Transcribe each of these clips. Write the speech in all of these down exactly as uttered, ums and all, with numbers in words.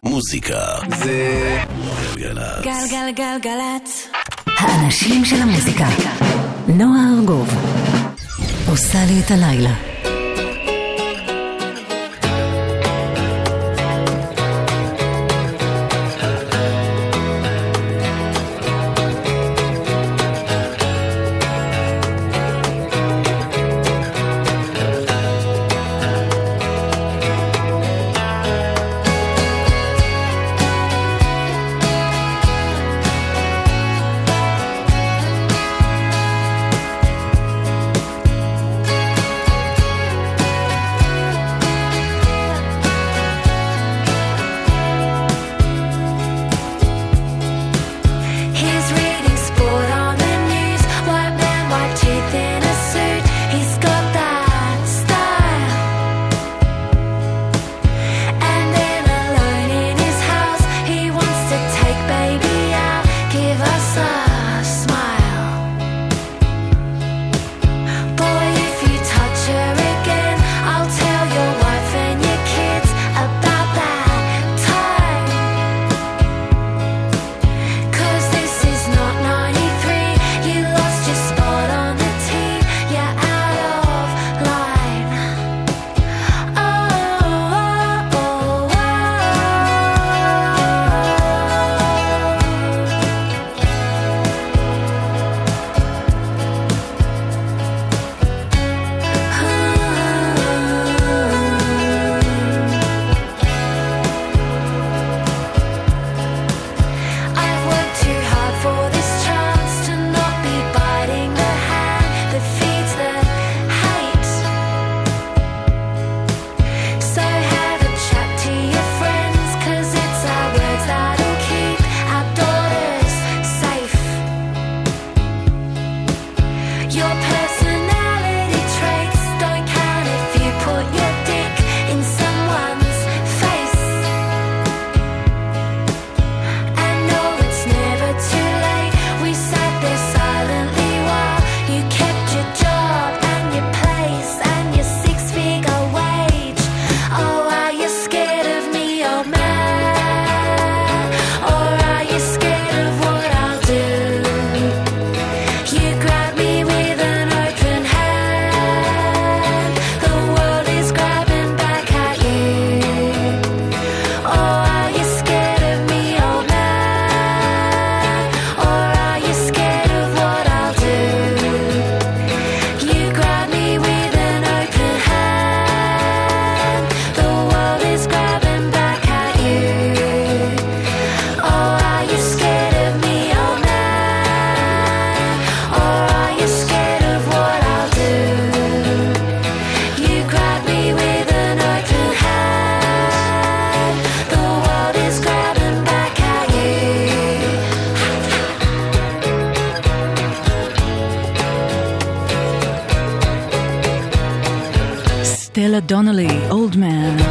מוזיקה זה גלגלצ. גלגלגלגלצ. האנשים של המוזיקה. נועה ארגוב עושה לי את הלילה. סטלה דונלי, Old Man.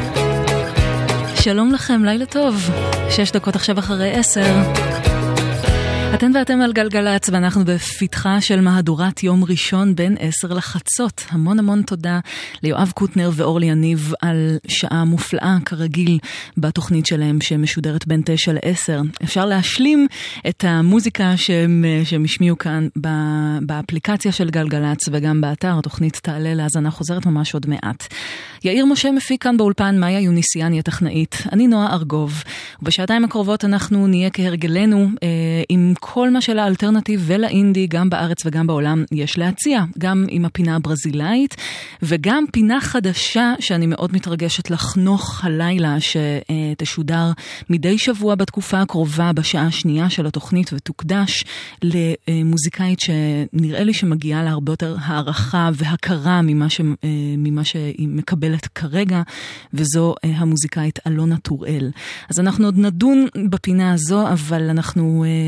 שלום לכם, לילה טוב. שש דקות עכשיו אחרי עשר. אתן ואתם על גלגלצ, ואנחנו בפתחה של מהדורת יום ראשון בין עשר לחצות. המון המון תודה ליואב קוטנר ואורלי יניב על שעה מופלאה כרגיל בתוכנית שלהם שמשודרת בין תשע לעשר. אפשר להשלים את המוזיקה שהם, שהם השמיעו כאן באפליקציה של גלגלצ וגם באתר. התוכנית תעלה להזנה חוזרת ממש עוד מעט. יאיר משה מפיק כאן באולפן, מאיה יוניסיאני הטכנאית. אני נועה ארגוב. ובשעתיים הקרובות אנחנו נהיה כהרגלנו אה, עם כל מה של האלטרנטיב ולאינדי, גם בארץ וגם בעולם, יש להציע, גם עם הפינה הברזילאית, וגם פינה חדשה שאני מאוד מתרגשת לחנוך הלילה, שתשודר מדי שבוע בתקופה הקרובה, בשעה השנייה של התוכנית, ותוקדש למוזיקאית שנראה לי שמגיעה לה הרבה יותר הערכה והכרה ממה, ש, ממה שהיא מקבלת כרגע, וזו המוזיקאית אלונה טוראל. אז אנחנו עוד נדון בפינה הזו, אבל אנחנו קודם כל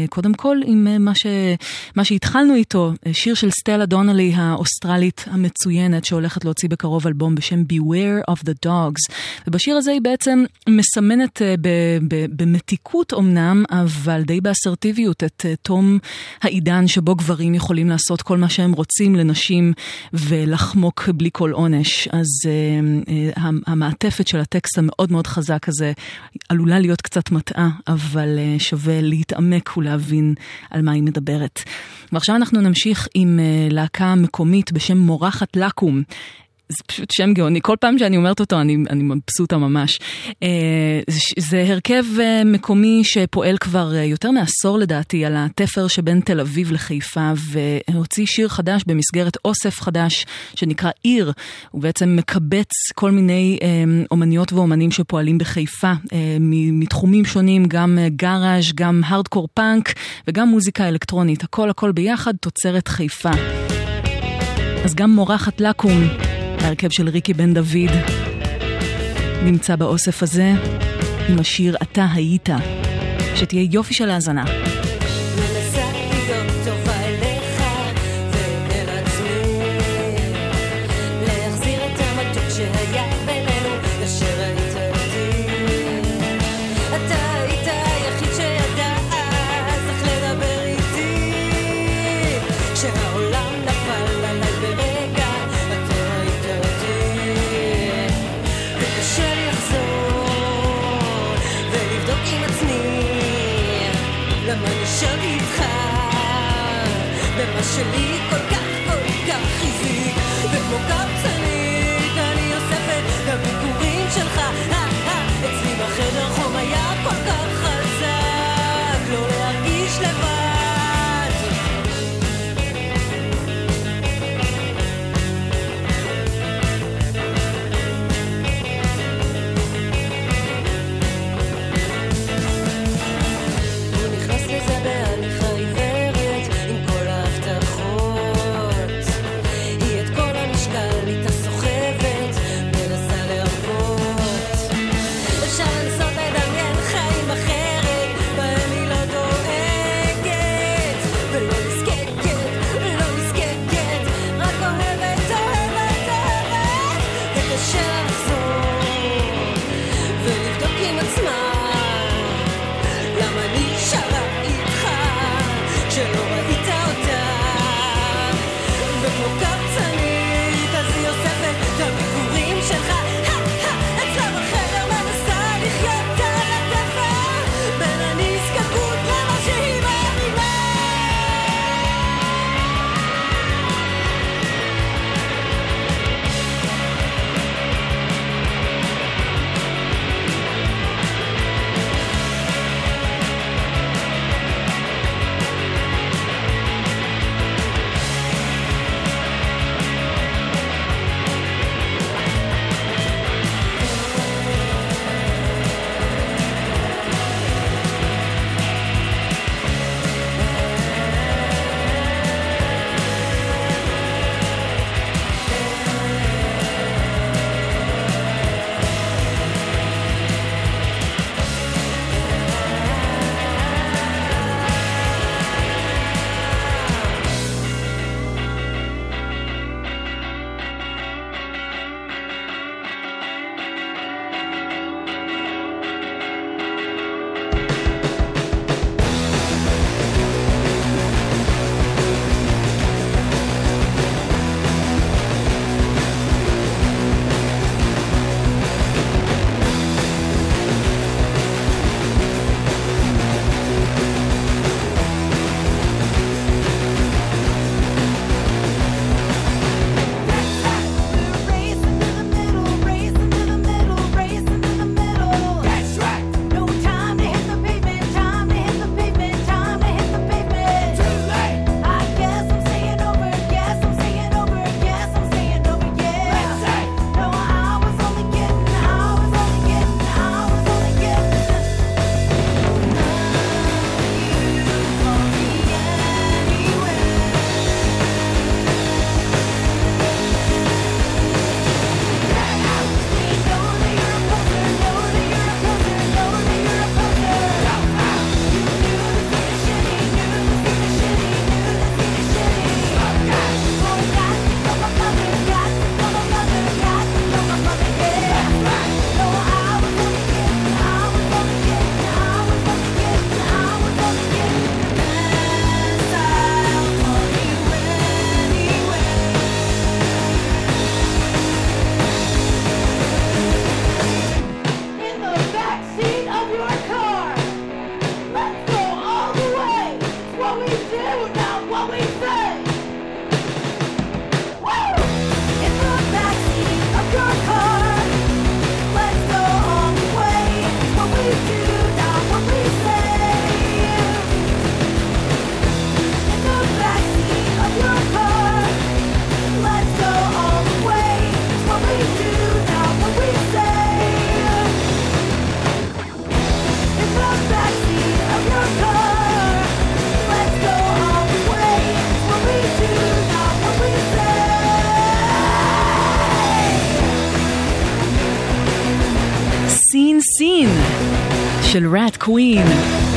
הכל עם מה, ש, מה שהתחלנו איתו, שיר של סטלה דונלי האוסטרלית המצוינת, שהולכת להוציא בקרוב אלבום בשם Beware of the Dogs. ובשיר הזה היא בעצם מסמנת ב, ב, במתיקות אמנם, אבל די באסרטיביות את תום העידן שבו גברים יכולים לעשות כל מה שהם רוצים לנשים ולחמוק בלי כל עונש. אז uh, המעטפת של הטקסט המאוד מאוד חזק הזה עלולה להיות קצת מטעה, אבל uh, שווה להתעמק ולהבין על מה היא מדברת. ועכשיו אנחנו נמשיך עם uh, להקה מקומית בשם מורחת לקום. זה פשוט שם גאוני, כל פעם שאני אומרת אותו אני, אני מבסוטה ממש. זה הרכב מקומי שפועל כבר יותר מעשור לדעתי על התפר שבין תל אביב לחיפה, והוציא שיר חדש במסגרת אוסף חדש שנקרא עיר. הוא בעצם מקבץ כל מיני אומניות ואומנים שפועלים בחיפה מתחומים שונים, גם גאראז', גם הארדקור פאנק וגם מוזיקה אלקטרונית, הכל הכל ביחד תוצרת חיפה. אז גם מורחת לקום, ההרכב של ריקי בן דוד, נמצא באוסף הזה עם השיר אתה היית, שתהיה יופי של האזנה. שלי כל כך כל כך חיזיק וכמו קפצנית אני אוספת לביקורים שלך אצלי בחדר חום היה כל כך חזק לא להרגיש לבד הוא נכנס לזה בהליכה עיוורת עם כל ההבטחות היא את כל המשקל חמסין של rat queen,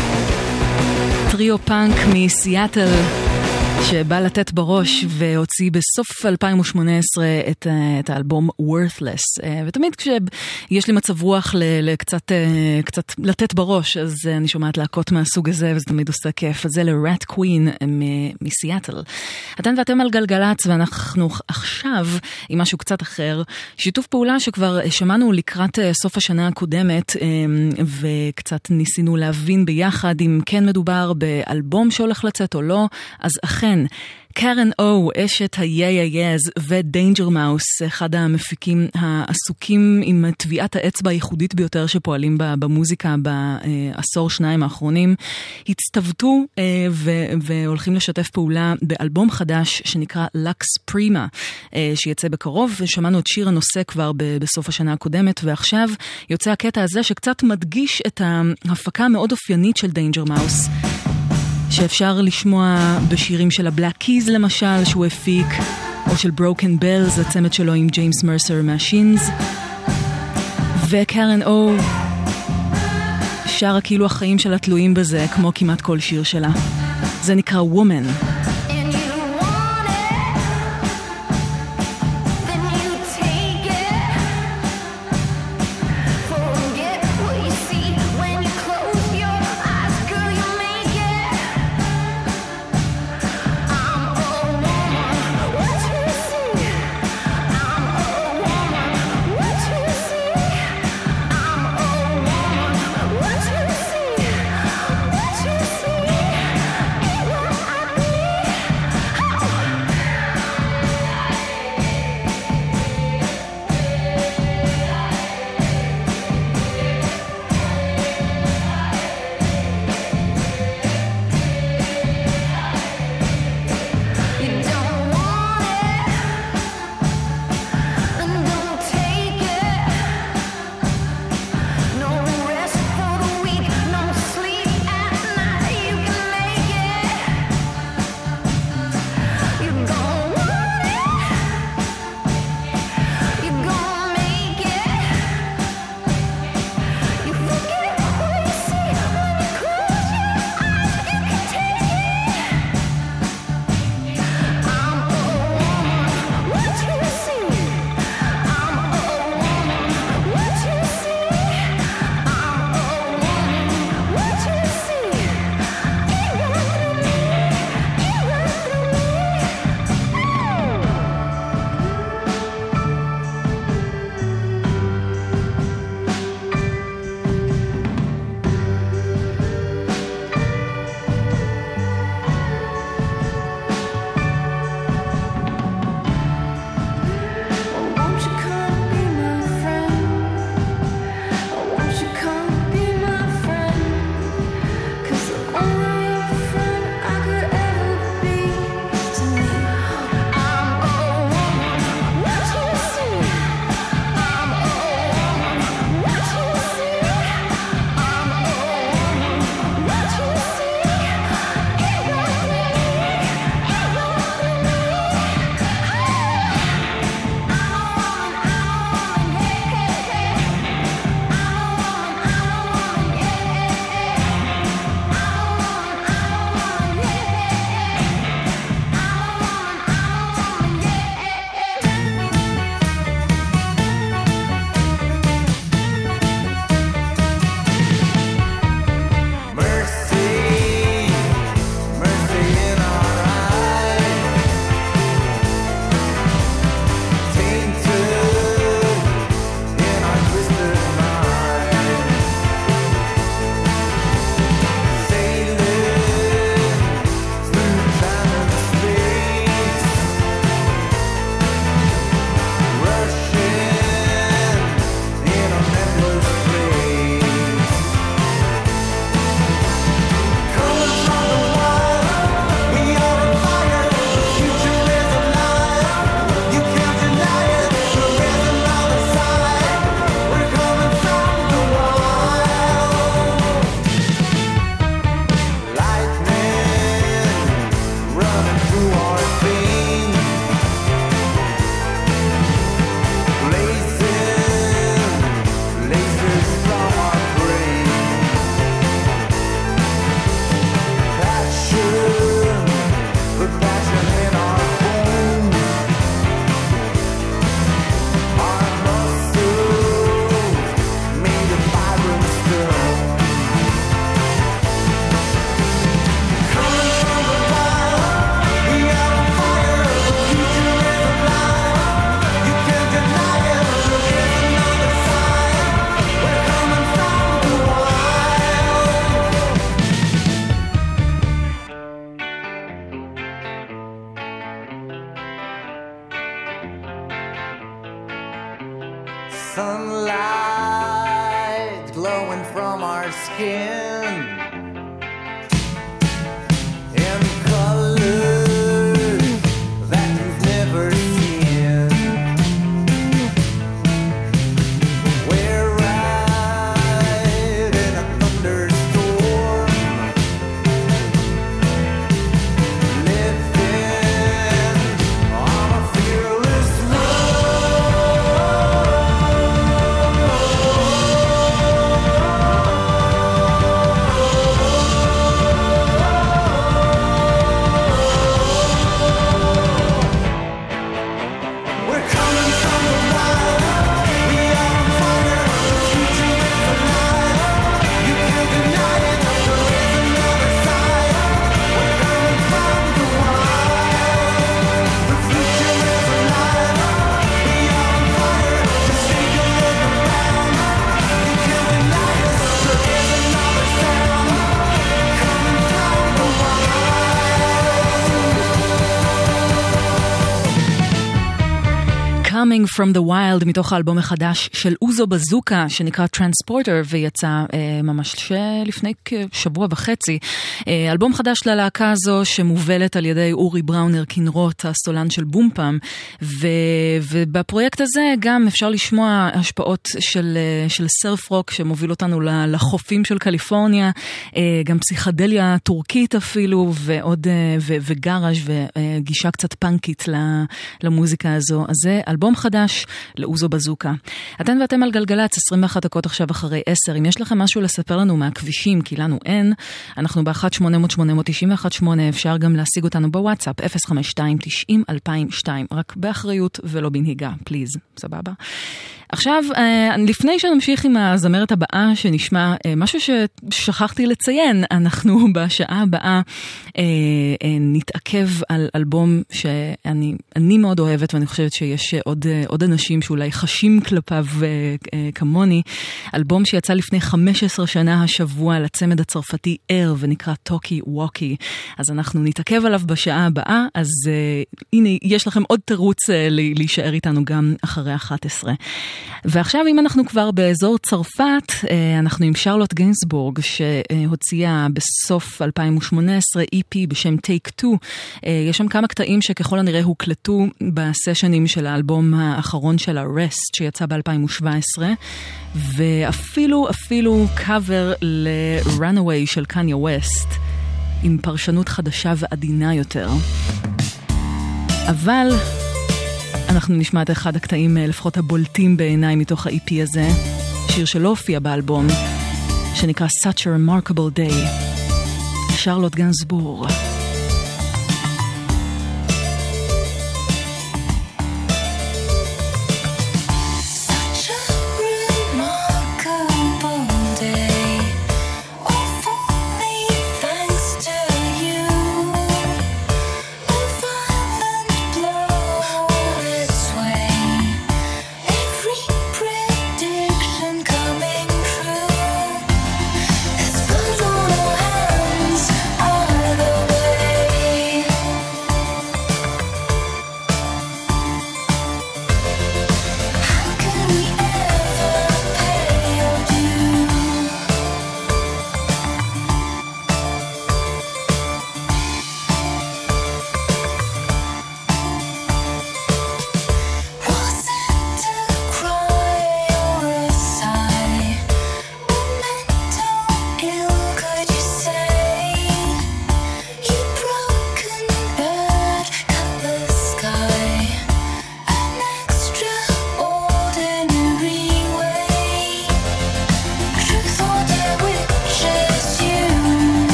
טריו פאנק מסיאטל שבא לתת בראש והוציא בסוף אלפיים ושמונה עשרה את, את האלבום Worthless. ותמיד כשיש לי מצב רוח לקצת קצת לתת בראש, אז אני שומעת להקות מהסוג הזה, וזה תמיד עושה כיף. אז זה ל-Rat Queen מסיאטל. אתן ואתם על גלגלץ, ואנחנו עכשיו עם משהו קצת אחר. שיתוף פעולה שכבר שמענו לקראת סוף השנה הקודמת, וקצת ניסינו להבין ביחד אם כן מדובר באלבום שהולך לצאת או לא. אז אכן, קארן או, אשת ה-Yeah-Yeah-Yeahs ו-Danger Mouse, אחד המפיקים העסוקים עם טביעת האצבע הייחודית ביותר שפועלים במוזיקה בעשור שניים האחרונים, הצטוותו והולכים לשתף פעולה באלבום חדש שנקרא Lux Prima, שיצא בקרוב, ושמענו את שיר הנושא כבר בסוף השנה הקודמת, ועכשיו יוצא הקטע הזה שקצת מדגיש את ההפקה המאוד אופיינית של Danger Mouse, שאפשר לשמוע בשירים של הבלק קיז למשל, שהוא הפיק, או של ברוקן בלס, הצמד שלו עם ג'יימס מרסר מהשינס. וקארן או שרה כאילו החיים שלה תלויים בזה, כמו כמעט כל שיר שלה. זה נקרא Woman. glowing from our skin in colors that you've never seen. We're right in a thunderstorm, living on a fearless Coming from the Wild, מתוך האלבום החדש של אוזו בזוקה, שנקרא Transporter, ויצא אה, ממש לפני שבוע וחצי. אה, אלבום חדש ללהקה הזו, שמובלת על ידי אורי בראונר קינרוט, הסולן של בומפם, ו, ובפרויקט הזה גם אפשר לשמוע השפעות של, של סרף רוק, שמוביל אותנו לחופים של קליפורניה, אה, גם פסיכדליה טורקית אפילו, ועוד, אה, ו, וגראז' וגישה קצת פאנקית למוזיקה הזו. אז זה אלבום חדש לאוזו בזוקה. אתן ואתם על גלגלץ, עשרים ואחת דקות עכשיו אחרי עשר. אם יש לכם משהו לספר לנו מהכבישים, כי לנו אין, אנחנו ב-אחת שמונה אפס אפס שמונה תשע אחת שמונה, אפשר גם להשיג אותנו בוואטסאפ, אפס חמש שתיים תשעים אלפיים ושתיים, רק באחריות ולא בנהיגה, פליז, סבבה? עכשיו, לפני שנמשיך עם הזמרת הבאה שנשמע, משהו ששכחתי לציין, אנחנו בשעה הבאה נתעכב על אלבום שאני אני מאוד אוהבת, ואני חושבת שיש עוד, עוד אנשים שאולי חשים כלפיו כמוני, אלבום שיצא לפני חמש עשרה שנה השבוע לצמד הצרפתי ער, ונקרא טוקי ווקי. אז אנחנו נתעכב עליו בשעה הבאה, אז הנה, יש לכם עוד תירוץ להישאר איתנו גם אחרי אחת עשרה. ועכשיו אם אנחנו כבר באזור צרפת, אנחנו עם שרלוט גיינסבורג, שהוציאה בסוף אלפיים ושמונה עשרה אי פי בשם Take Two. יש שם כמה קטעים שככל הנראה הוקלטו בסשנים של האלבום האחרון של ה-Rest, שיצא ב-אלפיים ושבע עשרה, ואפילו אפילו קאבר ל-Runaway של קניה ווסט, עם פרשנות חדשה ועדינה יותר. אבל אנחנו נשמע את אחד הקטעים לפחות הבולטים בעיניי מתוך ה-אי פי הזה, שיר שלא הופיע באלבום, שנקרא Such a Remarkable Day, שרלוט גיינסבורג. Hands out of the way.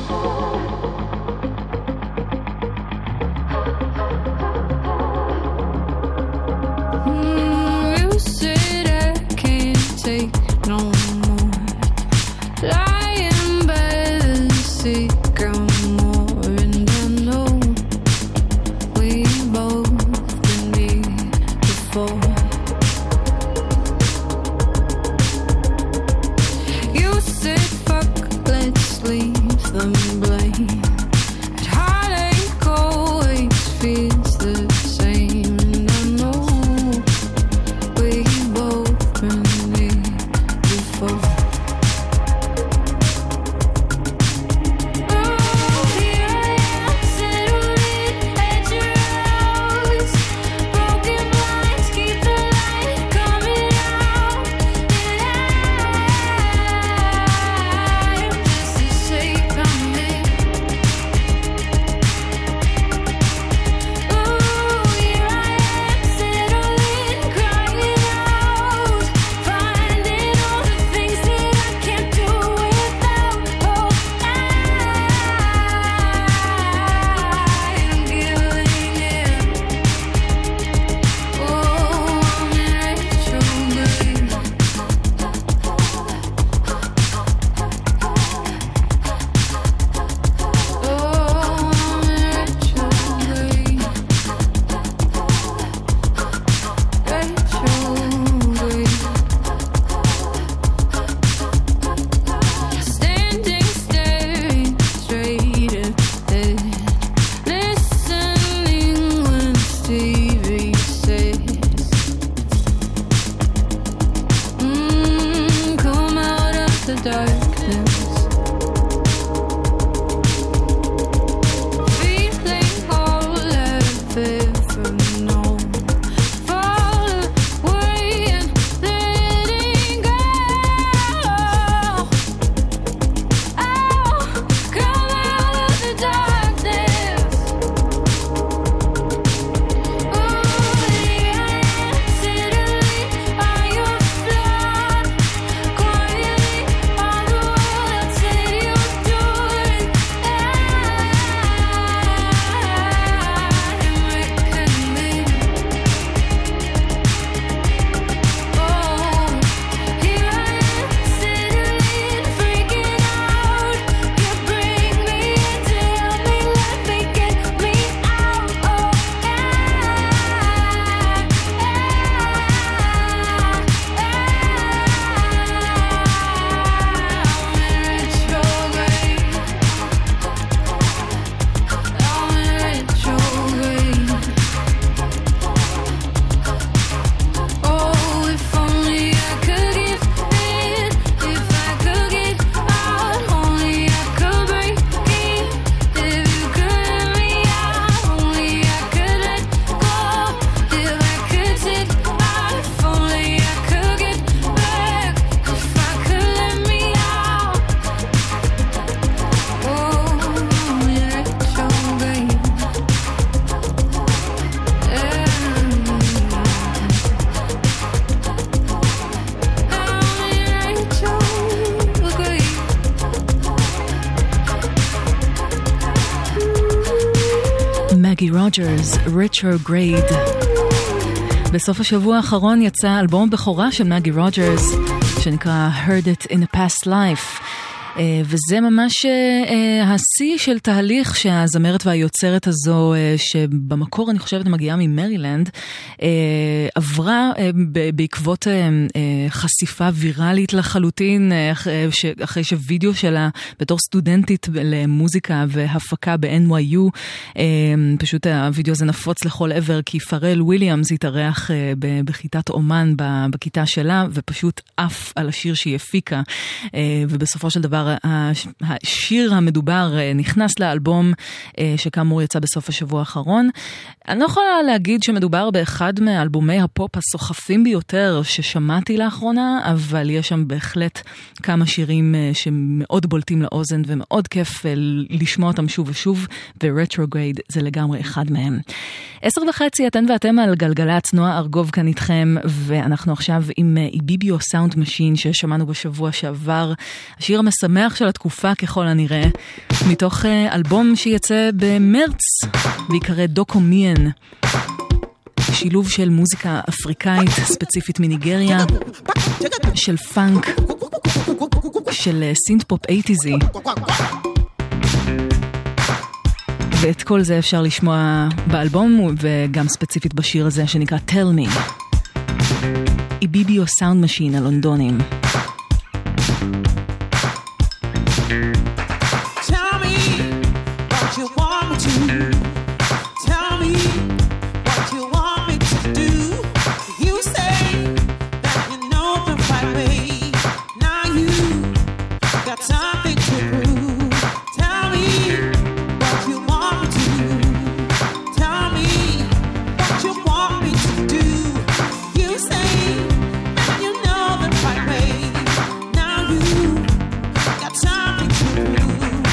מגי רוג'רס, Retrograde. בסוף השבוע האחרון יצא אלבום בכורה של מגי רוג'רס, שנקרא Heard It in a Past Life. וזה ממש השיא של תהליך שהזמרת והיוצרת הזו, שבמקור אני חושבת מגיעה ממרילנד, עברה בעקבות חשיפה ויראלית לחלוטין, אחרי שווידאו שלה בתור סטודנטית למוזיקה והפקה ב-אן וואי יו, פשוט הווידאו הזה נפוץ לכל עבר, כי פרל וויליאמס התארח בכיתת אומן בכיתה שלה, ופשוט עף על השיר שהיא הפיקה, ובסופו של דבר השיר המדובר נכנס לאלבום שכאמור יצא בסוף השבוע האחרון. אני לא יכולה להגיד שמדובר באחד מאלבומי הפופ הסוחפים ביותר ששמעתי לאחרונה, אבל יש שם בהחלט כמה שירים שמאוד בולטים לאוזן ומאוד כיף לשמוע אותם שוב ושוב, ו-Retrograde זה לגמרי אחד מהם. עשר וחצי, אתן ואתם על גלגלצ, נועה ארגוב כאן איתכם, ואנחנו עכשיו עם איביביו סאונד משין ששמענו בשבוע שעבר, השיר המסמל השמח של התקופה ככל הנראה, מתוך אלבום שיצא במרץ, ויקרא דוקומיאן. שילוב של מוזיקה אפריקאית, ספציפית מניגריה, של פאנק, של סינט פופ אייטיזי. ואת כל זה אפשר לשמוע באלבום, וגם ספציפית בשיר הזה שנקרא Tell Me. איביביו סאונד משין הלונדונים. Tell me what you want me to. Tell me what you want me to do. You say that you know the right way. Now you got something to prove. Tell me what you want me to. Tell me what you want me to do. You say that you know the right way. Now you got something to prove.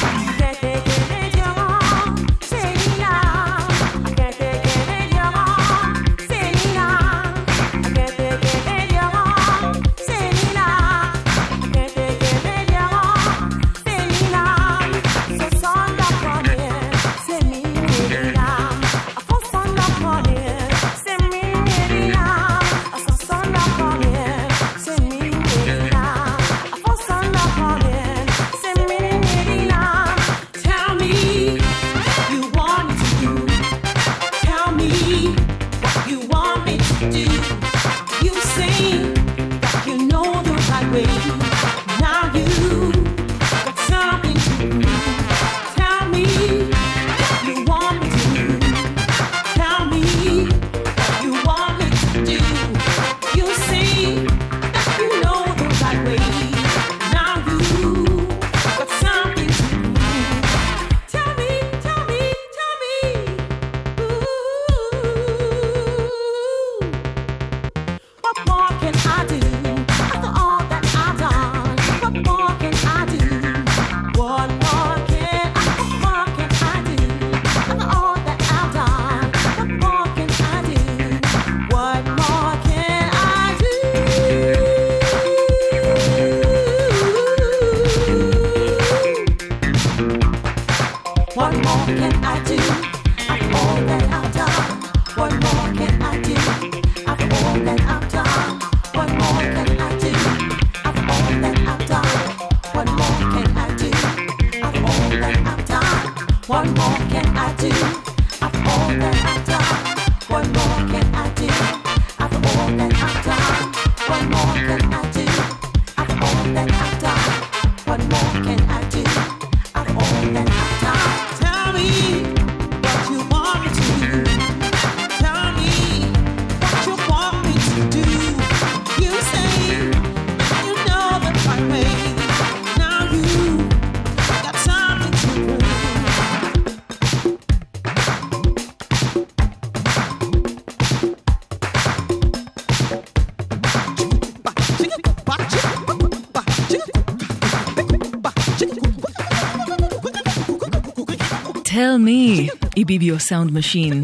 Tell me, איביביו סאונד משין.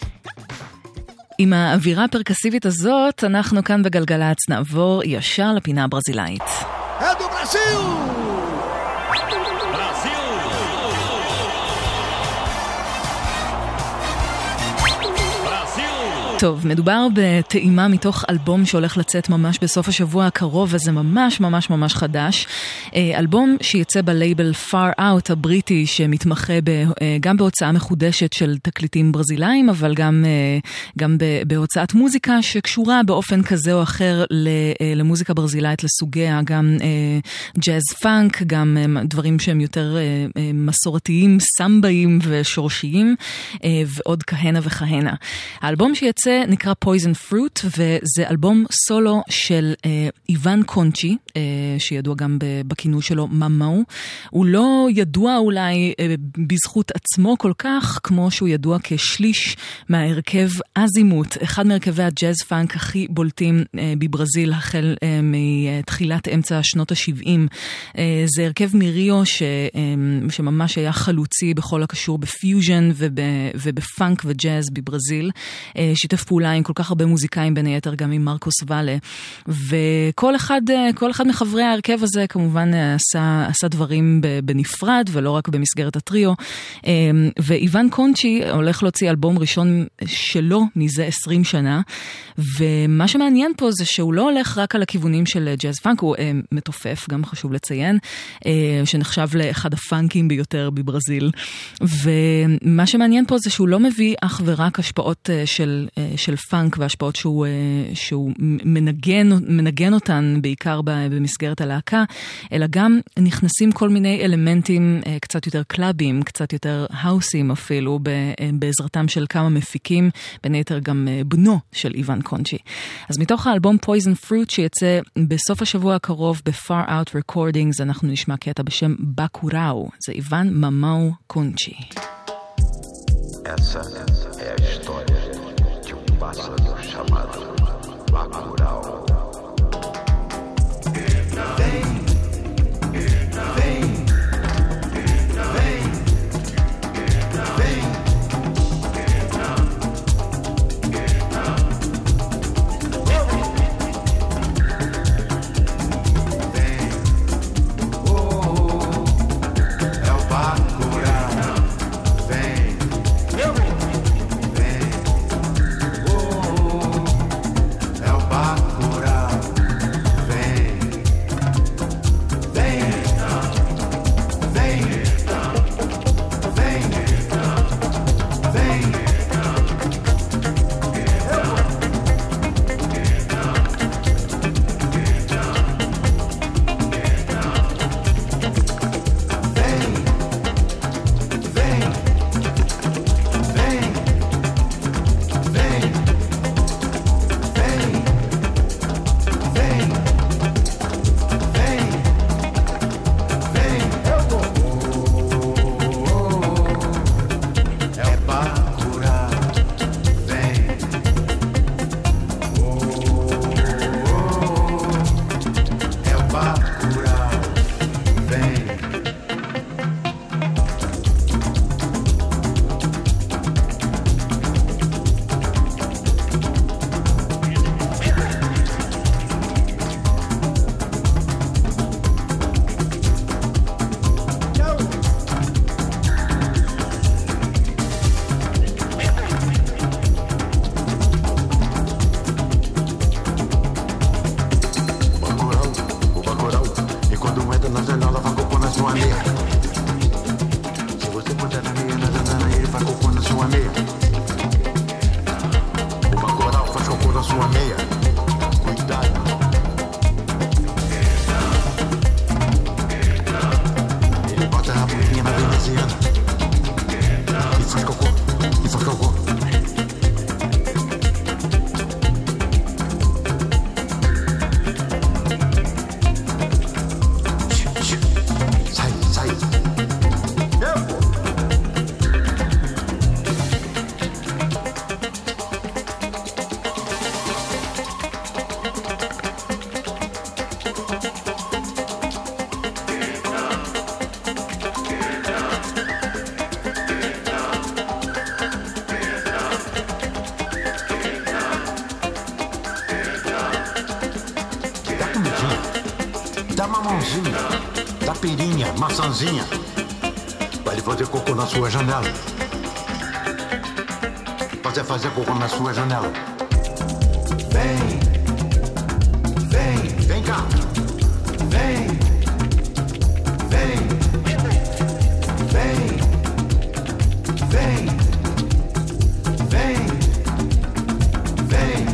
עם האווירה הפרקסיבית הזאת, אנחנו כאן בגלגלץ נעבור ישר לפינה הברזילאית. É do Brasil! טוב, מדובר בטעימה מתוך אלבום שהולך לצאת ממש בסוף השבוע הקרוב, וזה ממש ממש ממש חדש. אלבום שיצא בלייבל Far Out הבריטי, שמתמחה גם בהוצאה מחודשת של תקליטים ברזילאים, אבל גם, גם בהוצאת מוזיקה שקשורה באופן כזה או אחר למוזיקה ברזילאית לסוגיה, גם ג'אז פאנק, גם דברים שהם יותר מסורתיים, סמבאים ושורשיים, ועוד כהנה וכהנה. האלבום שיצא נקרא Poison Fruit, וזה אלבום סולו של אה, איוון קונצ'י, אה, שידוע גם בכינוי שלו ממאו. הוא לא ידוע אולי אה, בזכות עצמו כל כך, כמו שהוא ידוע כשליש מההרכב אזימוט, אחד מהרכבי הג'אז פאנק הכי בולטים אה, בברזיל, החל אה, מתחילת אמצע שנות ה-שבעים. אה, זה הרכב מריו ש, אה, שממש היה חלוצי בכל הקשור בפיוז'ן וב, ובפאנק וג'אז בברזיל. אה, שיתף משתף פעולה עם כל כך הרבה מוזיקאים, בין היתר גם עם מרקוס ואלה, וכל אחד, כל אחד מחברי ההרכב הזה כמובן עשה, עשה דברים בנפרד, ולא רק במסגרת הטריו, ואיוון קונצ'י הולך להוציא אלבום ראשון שלו מזה עשרים שנה, ומה שמעניין פה זה שהוא לא הולך רק על הכיוונים של ג'אז פאנק, הוא מתופף, גם חשוב לציין, שנחשב לאחד הפאנקים ביותר בברזיל, ומה שמעניין פה זה שהוא לא מביא אך ורק השפעות של, של פאנק, והשפעות שהוא, שהוא מנגן, מנגן אותן בעיקר במסגרת הלהקה, אלא גם נכנסים כל מיני אלמנטים קצת יותר קלאבים, קצת יותר האוסים אפילו, בעזרתם של כמה מפיקים, בין היתר גם בנו של איוון קונצ'י. אז מתוך האלבום Poison Fruit שיצא בסוף השבוע הקרוב ב-Far Out Recordings, אנחנו נשמע קטע בשם בקוראו, זה איוון ממאו קונצ'י. Essa é a história de um pássaro chamado Bacurau. Vem, vem, vem, vem. Maçãzinha, vai lhe fazer cocô na sua janela. Você fazer cocô na sua janela. Vem, vem, vem cá. Vem, vem, vem, vem, vem, vem.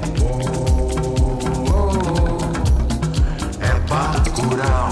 Oh, oh, oh. É Bacurau.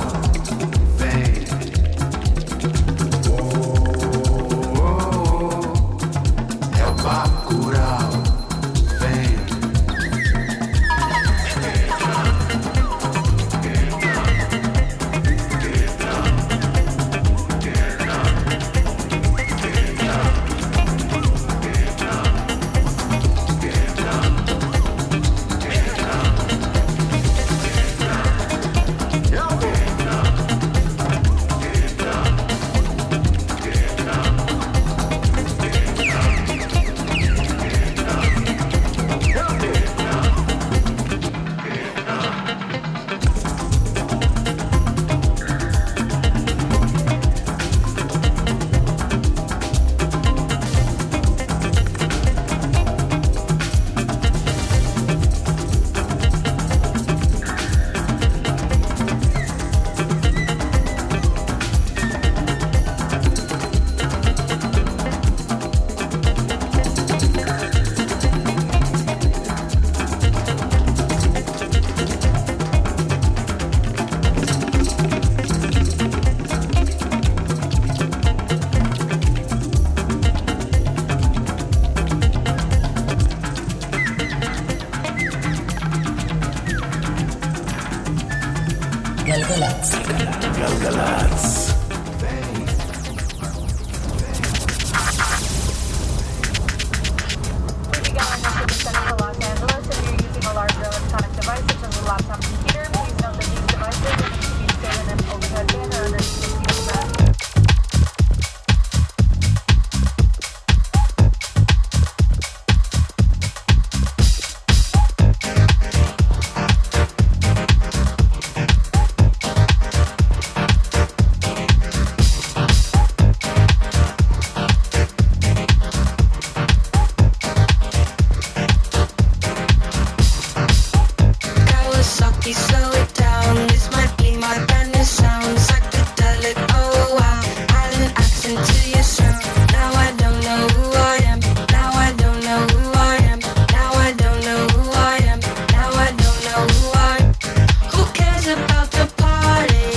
accent to your sound. Now I don't know who I am. Now I don't know who I am. Now I don't know who I am. Now I don't know who I am. Who cares about the party?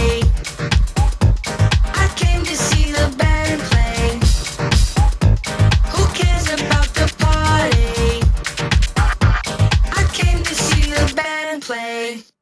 I came to see the band play. Who cares about the party? I came to see the band play.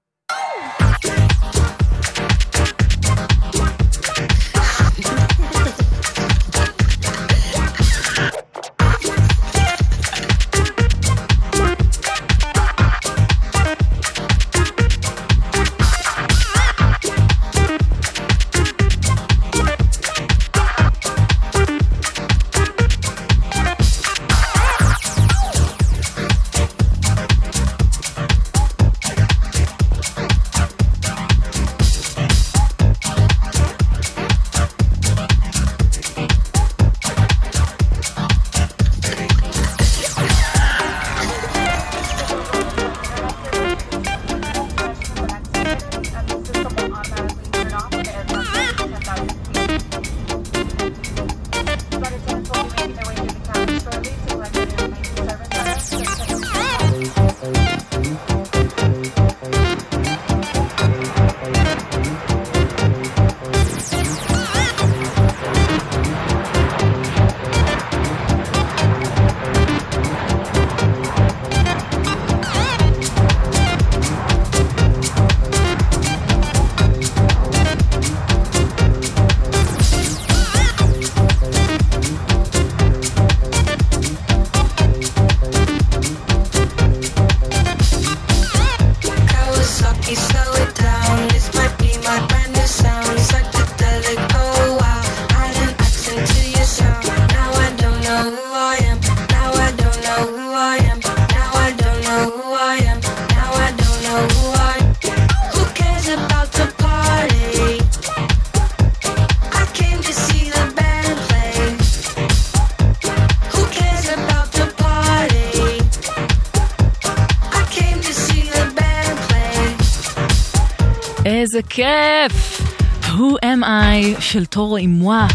איזה כיף! Who am I של טורו אימואה.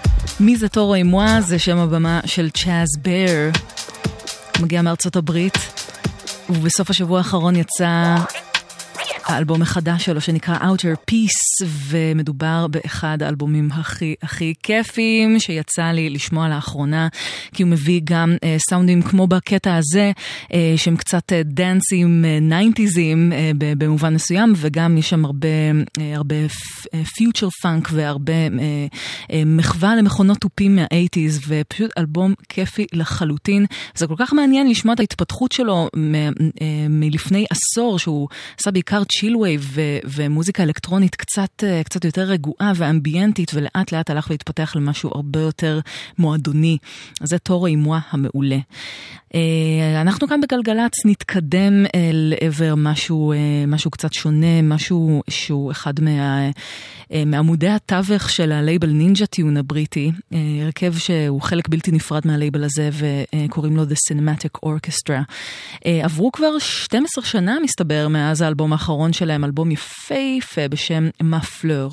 מי זה טורו אימואה? זה שם הבמה של צ'אז בר. מגיע מארצות הברית, ובסוף השבוע האחרון יצא האלבום החדש שלו שנקרא Outer Peace, ומדובר באחד האלבומים הכי הכי כיפים שיצא לי לשמוע לאחרונה, כי הוא מביא גם אה, סאונדים כמו בקטע הזה, אה, שהם קצת אה, דנסים, אה, ניינטיזים אה, במובן מסוים, וגם יש שם הרבה, אה, הרבה פיוטר פאנק והרבה אה, אה, מחווה למכונות טופים מה-אייטיז, ופשוט אלבום כיפי לחלוטין. זה כל כך מעניין לשמוע את ההתפתחות שלו מ- אה, מלפני עשור, שהוא עשה בעיקר צ'יל ווייב ומוזיקה אלקטרונית קצת, קצת יותר רגועה ואמביינטית, ולאט לאט הלך להתפתח למשהו הרבה יותר מועדוני. אז זה טורו אימואה המעולה. אנחנו כאן בגלגלץ נתקדם לעבר משהו, משהו קצת שונה, משהו שהוא אחד מה, מעמודי התווך של הלייבל נינג'ה טיון הבריטי, הרכב שהוא חלק בלתי נפרד מהלייבל הזה, וקוראים לו The Cinematic Orchestra. עברו כבר שתים עשרה שנה מסתבר מאז האלבום האחרון שלהם, אלבום יפהפה בשם מפלור,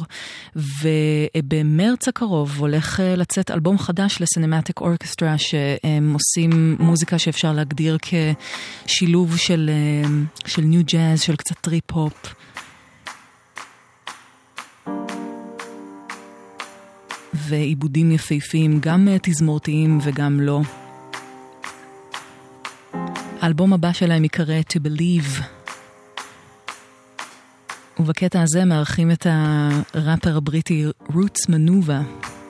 ובמרץ הקרוב הולך לצאת אלבום חדש לסינמטיק אורקסטרה, שהם עושים מוזיקה שאפשר להגדיר כשילוב של, של ניו ג'אז, של קצת טריפ-הופ. ועיבודים יפהפים, גם תזמורתיים וגם לא. האלבום הבא שלהם יקרא To Believe, ובקטע הזה מארחים את הראפר הבריטי רוטס מנובה.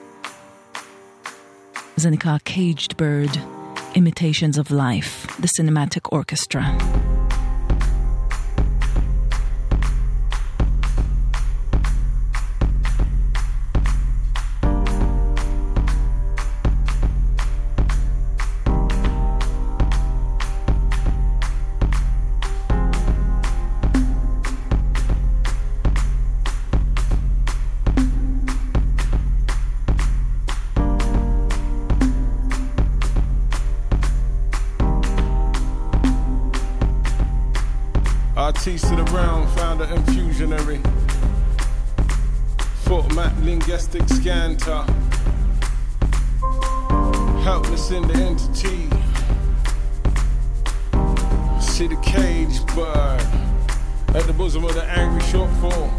זה נקרא Caged Bird, Imitations of Life, The Cinematic Orchestra. Artiste of the realm, founder infusionary, format linguistic scanter, noticing the entity. See the caged bird at the bosom of the angry shortfall.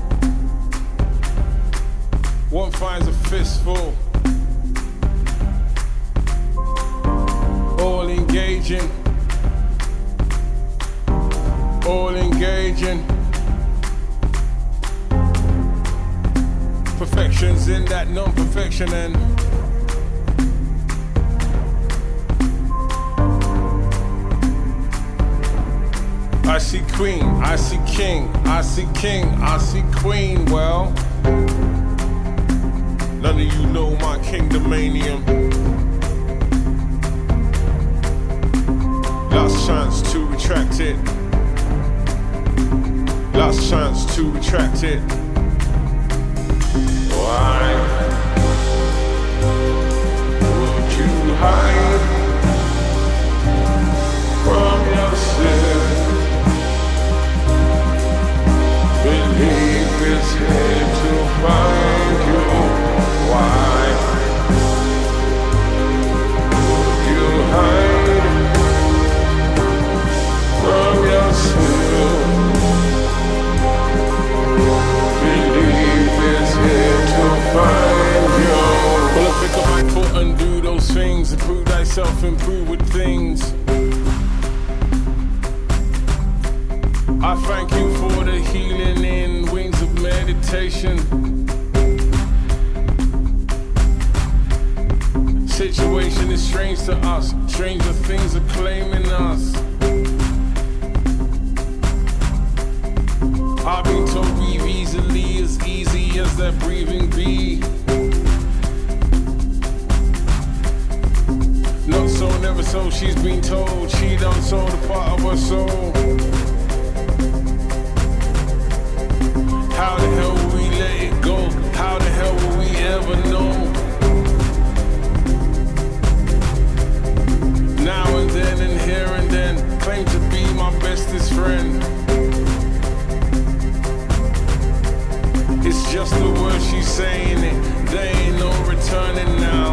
One finds a fistful. All engaging. All engaging. Perfections in that non-perfection and I see queen, I see king, I see king, I see queen. Well, none of you know my kingdomanium. Last chance to retract it. Last chance to retract it. Why would you hide from yourself? Believe it's here to find you. Why would you hide from yourself? Believe it's here to find you. Well, I pick up my foot and do those things. Improve thyself, improve with things. I thank you for the healing in wings of meditation. Situation is strange to us. Stranger things are claiming us. I've been told breathe easily, as easy as that breathing be. Not so, never so, she's been told. She done sold a part of her soul. How the hell will we let it go? How the hell will we ever know? Now and then and here and then, claim to be my bestest friend. It's just the words she's saying it. There ain't no returning now.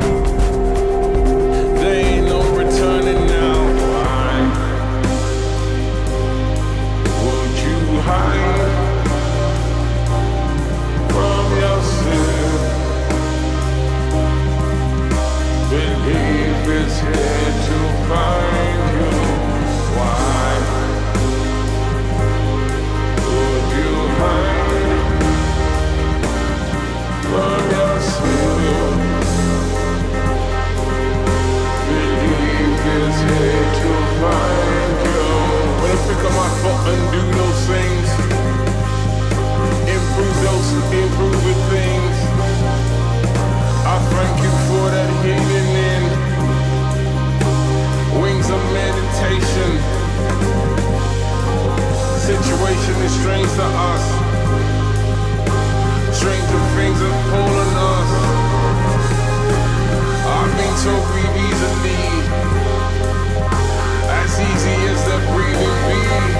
There ain't no returning now. Why would you hide from yourself? Believe it's here to find you. Why would you hide from yourself? Believe it's here to find you. When I pick up my foot and do those things, improve those improving things. I thank you for that healing in wings of meditation. Situation is strange to us. Stranger things are pulling us. I've been so breathe easily, as easy as that breathing be.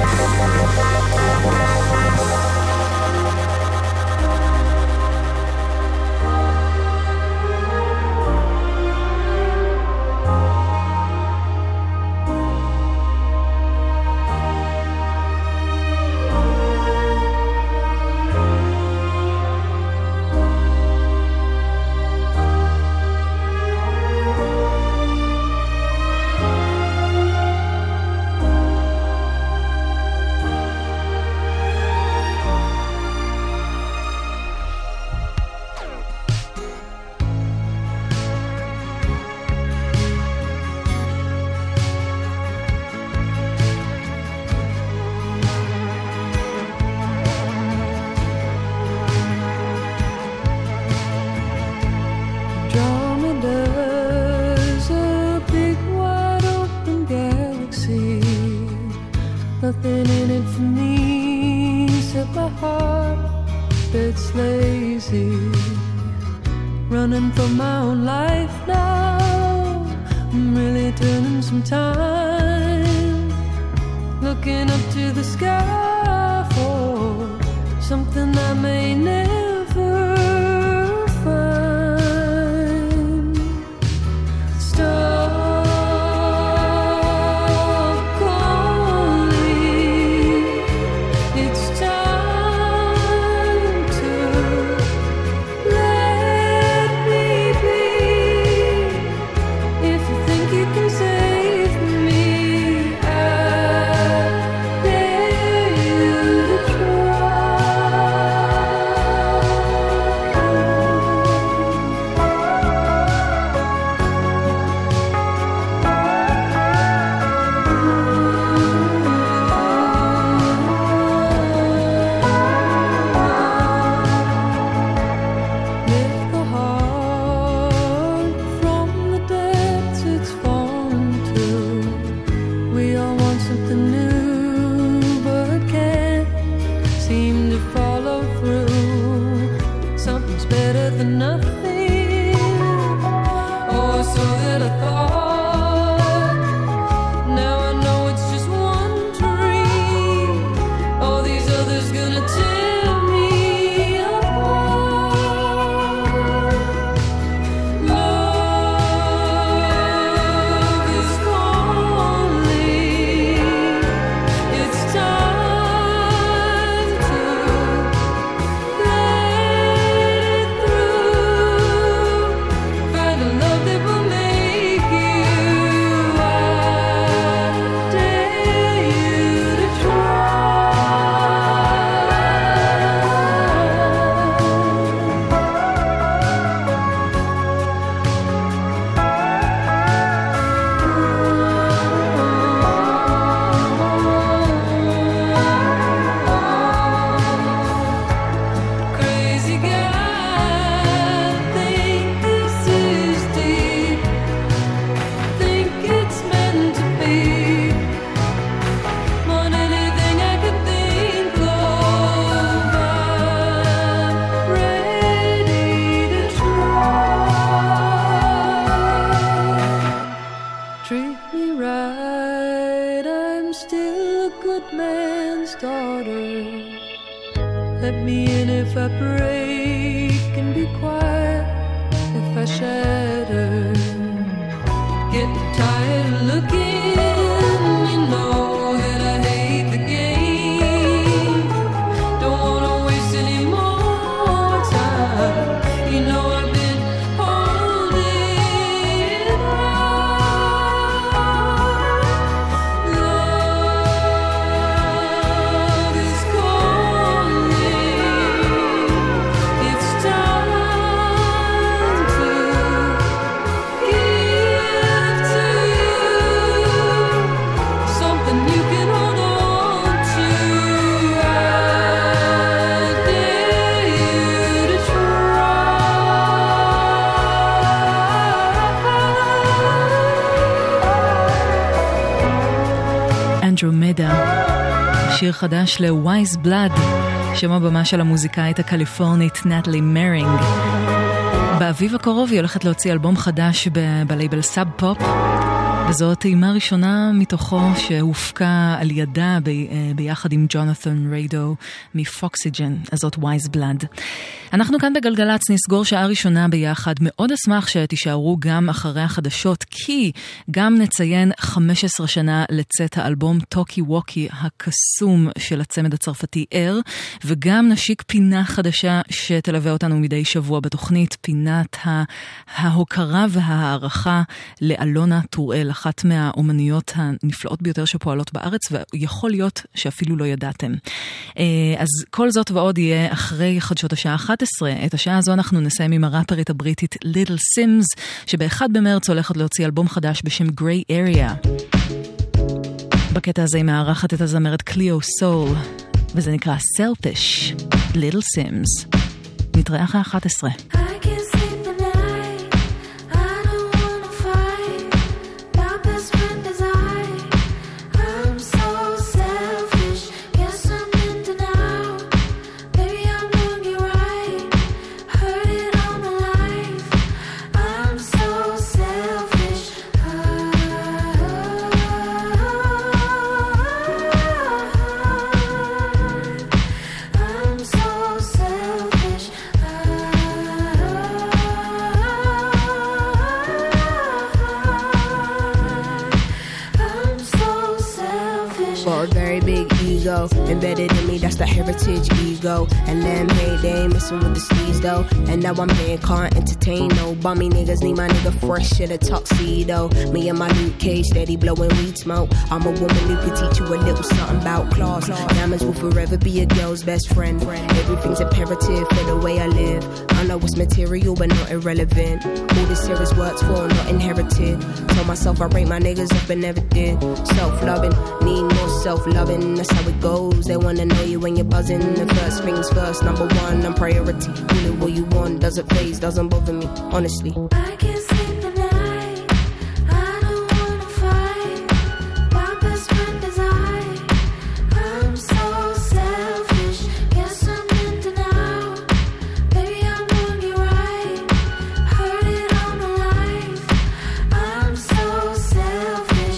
Nothing in it for me except my heart that's lazy. Running for my own life now. I'm really turning some time. Looking up to the sky for something I may never find. Stars Let me in if I break, and be quiet if I shatter. Get tired of looking, you know that I hate the game. Don't wanna waste any more time. You know I've been holding on. Love is calling. It's time to give to you something you can hold on to. I dare you to try. אנדרומדה, שיר חדש ל-Wise Blood, שם הבמה של המוזיקאית הקליפורנית נטלי מרינג. באביב הקרוב היא הולכת להוציא אלבום חדש ב- בלייבל סאב פופ, וזו טעימה ראשונה מתוכו שהופקה על ידה ב- ביחד עם ג'ונת'ן ריידו מפוקסיג'ן, אז זאת Wise Blood. אנחנו כאן בגלגלץ נסגור שעה ראשונה ביחד. מאוד אשמח שתישארו גם אחרי החדשות, כי גם נציין חמש עשרה שנה לצאת האלבום טוקי ווקי הקסום של הצמד הצרפתי אר, וגם נשיק פינה חדשה שתלווה אותנו מדי שבוע בתוכנית, פינת ההוקרה וההערכה לאלונה טוראל, אחת מהאומניות הנפלאות ביותר שפועלות בארץ, ויכול להיות שאפילו לא ידעתם. אז כל זאת ועוד יהיה אחרי חדשות השעה אחת עשרה. את השעה הזו אנחנו נסיים עם הראפרית הבריטית ליטל סימס, שב-אחד במרץ הולכת להוציא אלבום חדש בשם גריי אריה. בקטע הזה היא מארחת את הזמרת קליו סול, וזה נקרא Selfish, ליטל סימס. נתראה אחרי אחת עשרה. Embedded in me, that's the heritage ego. And them, hey, they ain't messing with the steez though. And now I'm here, can't entertain no bummy niggas. Need my nigga fresh in a tuxedo. Me and my Luke Cage steady blowing weed smoke. I'm a woman who can teach you a little something about class. Diamonds will forever be a girl's best friend. Everything's imperative for the way I live. I know it's material but not irrelevant. All this here is worked for, not inherited. Told myself I rate my niggas up and never did. Self-loving, need more self-loving. That's how it goes. They wanna know you when you're buzzing. The first things first, number one, I'm priority. Call it what you want, doesn't faze, doesn't bother me, honestly. I can't sleep at night. I don't wanna fight. My best friend is I. I'm so selfish. Guess I'm in denial. Baby, I'm wrong, you're right. Heard it all my life. I'm so selfish.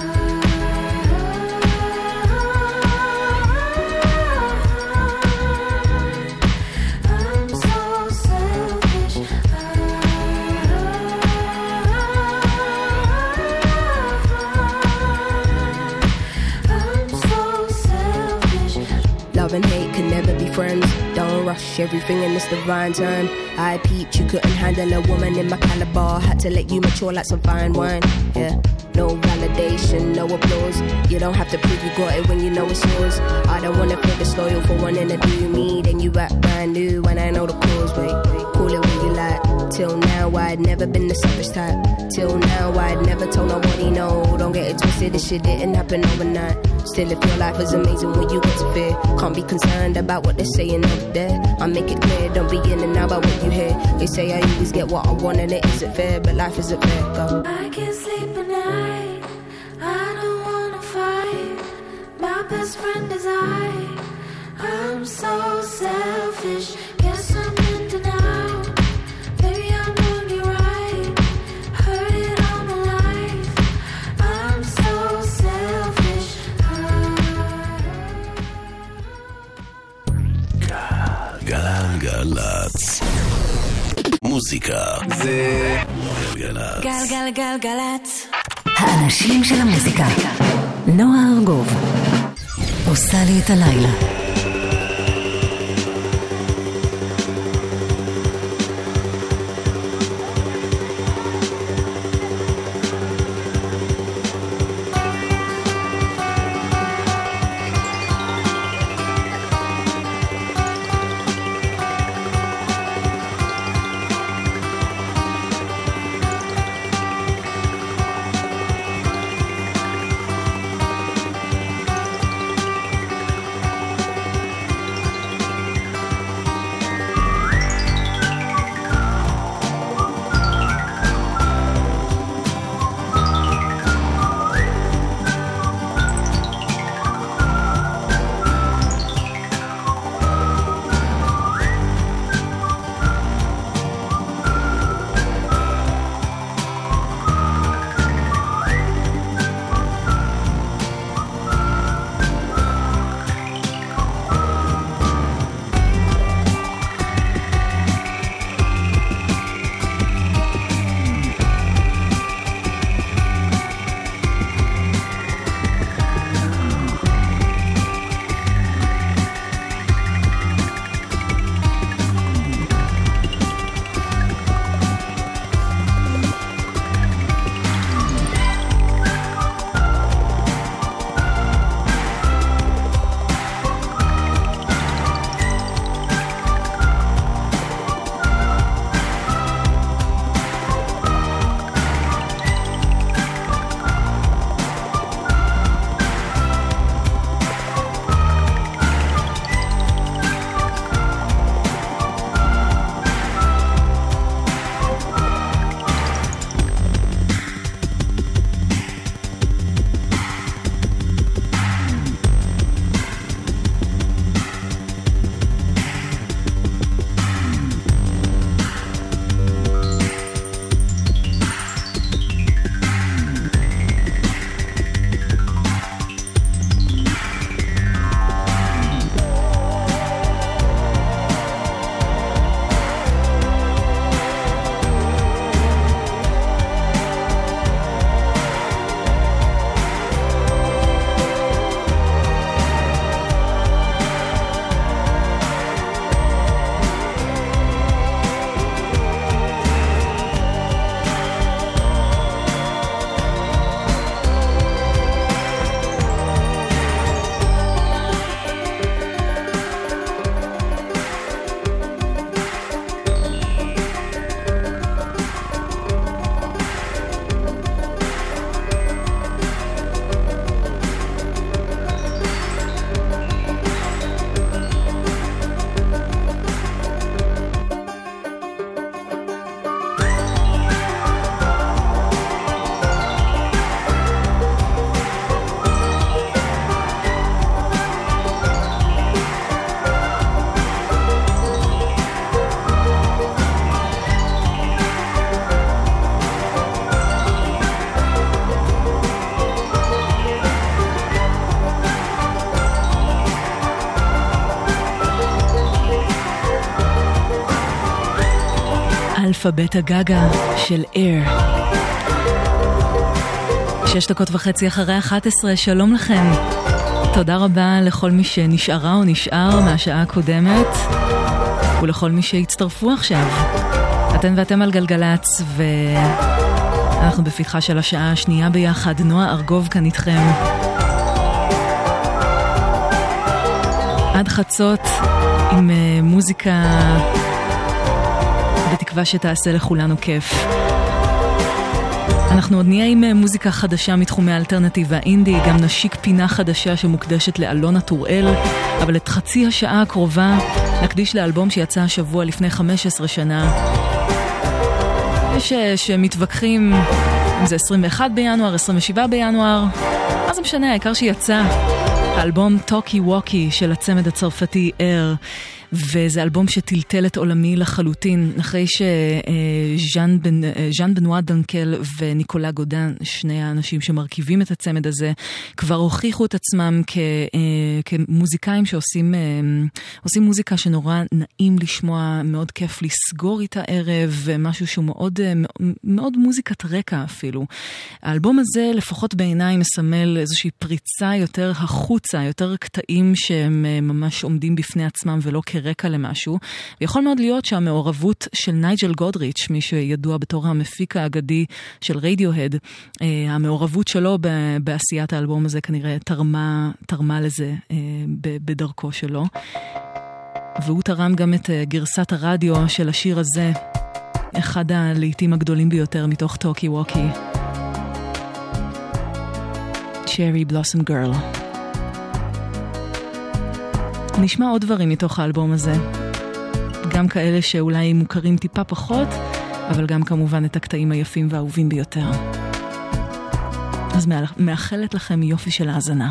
Love and hate can never be friends. Don't rush everything in this divine time. I peeped you couldn't handle a woman in my caliber. Had to let you mature like some fine wine. Yeah, no validation, no applause. You don't have to prove you got it when you know it's yours. I don't wanna feel disloyal for wanting to do me. Then you act brand new when I know the cause. Wait, call it what you like. Till now I'd never been the selfish type. Till now I'd never told nobody no. Don't get it twisted, this shit didn't happen overnight. Still if your life is amazing when you get to fear. Can't be concerned about what they're saying over there. I make it clear, don't be in and out about what you hear. They say I always get what I want and it isn't fair. But life isn't fair, go. I can't sleep at night. I don't wanna fight. My best friend is I. I'm so selfish. Guess I'm in denial. Baby, I'm wrong, you're right. Heard it all my life. I'm so selfish. God. המוזיקה זה גלגלצ. גלגלגלגלצ. האנשים של המוזיקה. נועה ארגוב עושה לי את הלילה. אלפבית הגגה של Air. שש דקות וחצי אחרי אחת עשרה, שלום לכם. תודה רבה לכל מי שנשארה או נשאר מהשעה הקודמת, ולכל מי שהצטרפו עכשיו. אתן ואתם על גלגלץ, ואנחנו בפתחה של השעה השנייה ביחד. נועה ארגוב כאן איתכם. עד חצות עם מוזיקה בתקווה שתעשה לכולנו כיף. אנחנו עוד נהיה עם מוזיקה חדשה מתחומי האלטרנטיב והאינדי, גם נשיק פינה חדשה שמוקדשת לאלונה טוראל, אבל את חצי השעה הקרובה נקדיש לאלבום שיצא השבוע לפני חמש עשרה שנה. יש שמתווכחים אם זה עשרים ואחד בינואר, עשרים ושבעה בינואר, מה זה משנה, העיקר שיצא. האלבום טוקי ווקי של הצמד הצרפתי Air. וזה אלבום שטלטל את עולמי לחלוטין, אחרי שז'אן בן, ז'אן בנואה דנקל וניקולה גודן, שני האנשים שמרכיבים את הצמד הזה, כבר הוכיחו את עצמם כ, כמוזיקאים שעושים עושים מוזיקה שנורא נעים לשמוע, מאוד כיף לסגור איתה ערב, משהו שהוא מאוד, מאוד מוזיקת רקע אפילו. האלבום הזה, לפחות בעיניי, מסמל איזושהי פריצה יותר החוצה, יותר קטעים שהם ממש עומדים בפני עצמם ולא כרקע למשהו. ויכול מאוד להיות שהמעורבות של נייג'ל גודריץ', מי שידוע בתור המפיק האגדי של רדיוהד, המעורבות שלו בעשיית האלבום הזה כנראה תרמה, תרמה לזה בדרכו שלו. והוא תרם גם את גרסת הרדיו של השיר הזה, אחד הלעיתים הגדולים ביותר מתוך טוקי ווקי. Cherry Blossom Girl. נשמע עוד דברים מתוך האלבום הזה, גם כאלה שאולי מוכרים טיפה פחות, אבל גם כמובן את הקטעים היפים והאהובים ביותר. אז מאחלת לכם יופי של האזנה.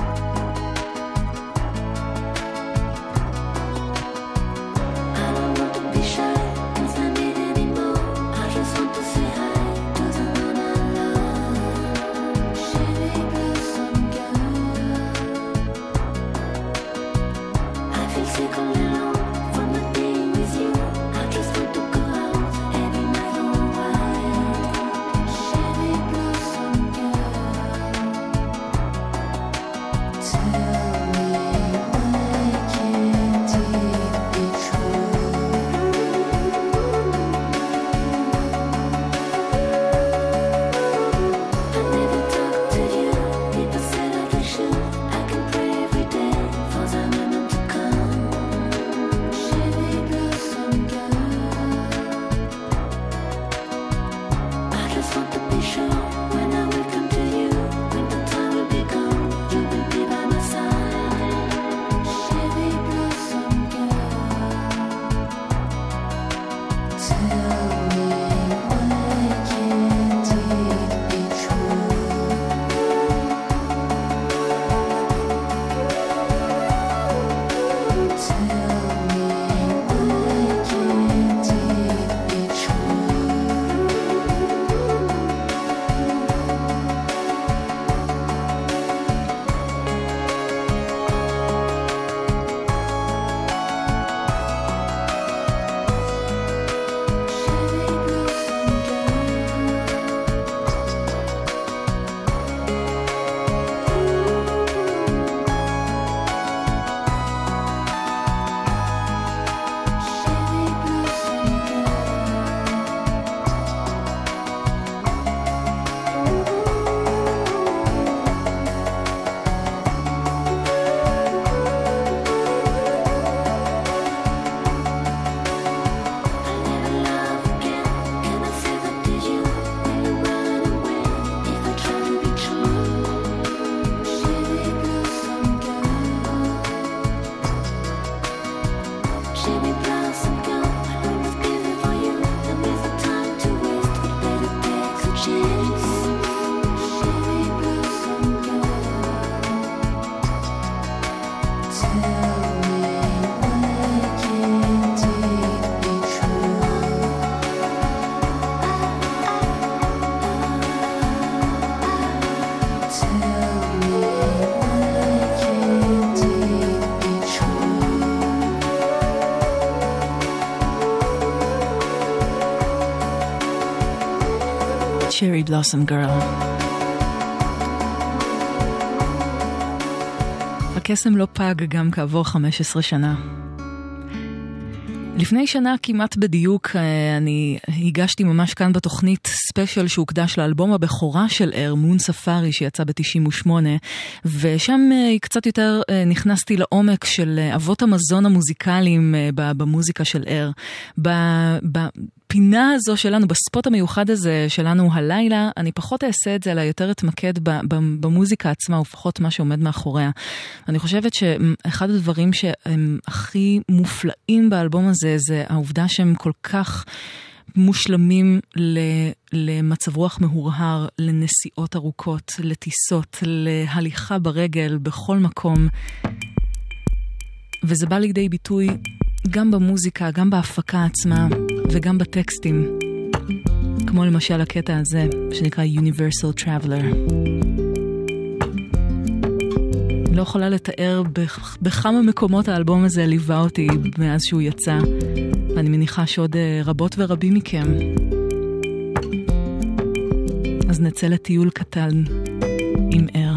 Cherry Blossom Girl. הקסם לא פג גם כעבור חמש עשרה שנה. לפני שנה כמעט בדיוק אני הגשתי ממש כאן בתוכנית ספיישל שהוקדש לאלבום הבכורה של אר, מון ספארי, שיצא ב-תשעים ושמונה, ושם קצת יותר נכנסתי לעומק של אבות המזון המוזיקליים במוזיקה של אר. בפינה הזו שלנו, בספוט המיוחד הזה שלנו הלילה, אני פחות אעשה את זה, אלא יותר אתמקד במוזיקה עצמה, ופחות מה שעומד מאחוריה. אני חושבת שאחד הדברים שהם הכי מופלאים באלבום הזה, זה העובדה שהם כל כך מושלמים למצב רוח מהורהר, לנסיעות ארוכות, לטיסות, להליכה ברגל, בכל מקום. וזה בא לידי ביטוי גם במוזיקה, גם בהפקה עצמה וגם בטקסטים, כמו למשל הקטע הזה שנקרא Universal Traveler. לא יכולה לתאר בכמה מקומות האלבום הזה ליווה אותי מאז שהוא יצא, ואני מניחה שעוד רבות ורבים מכם. אז נצא לטיול קטן עם אר.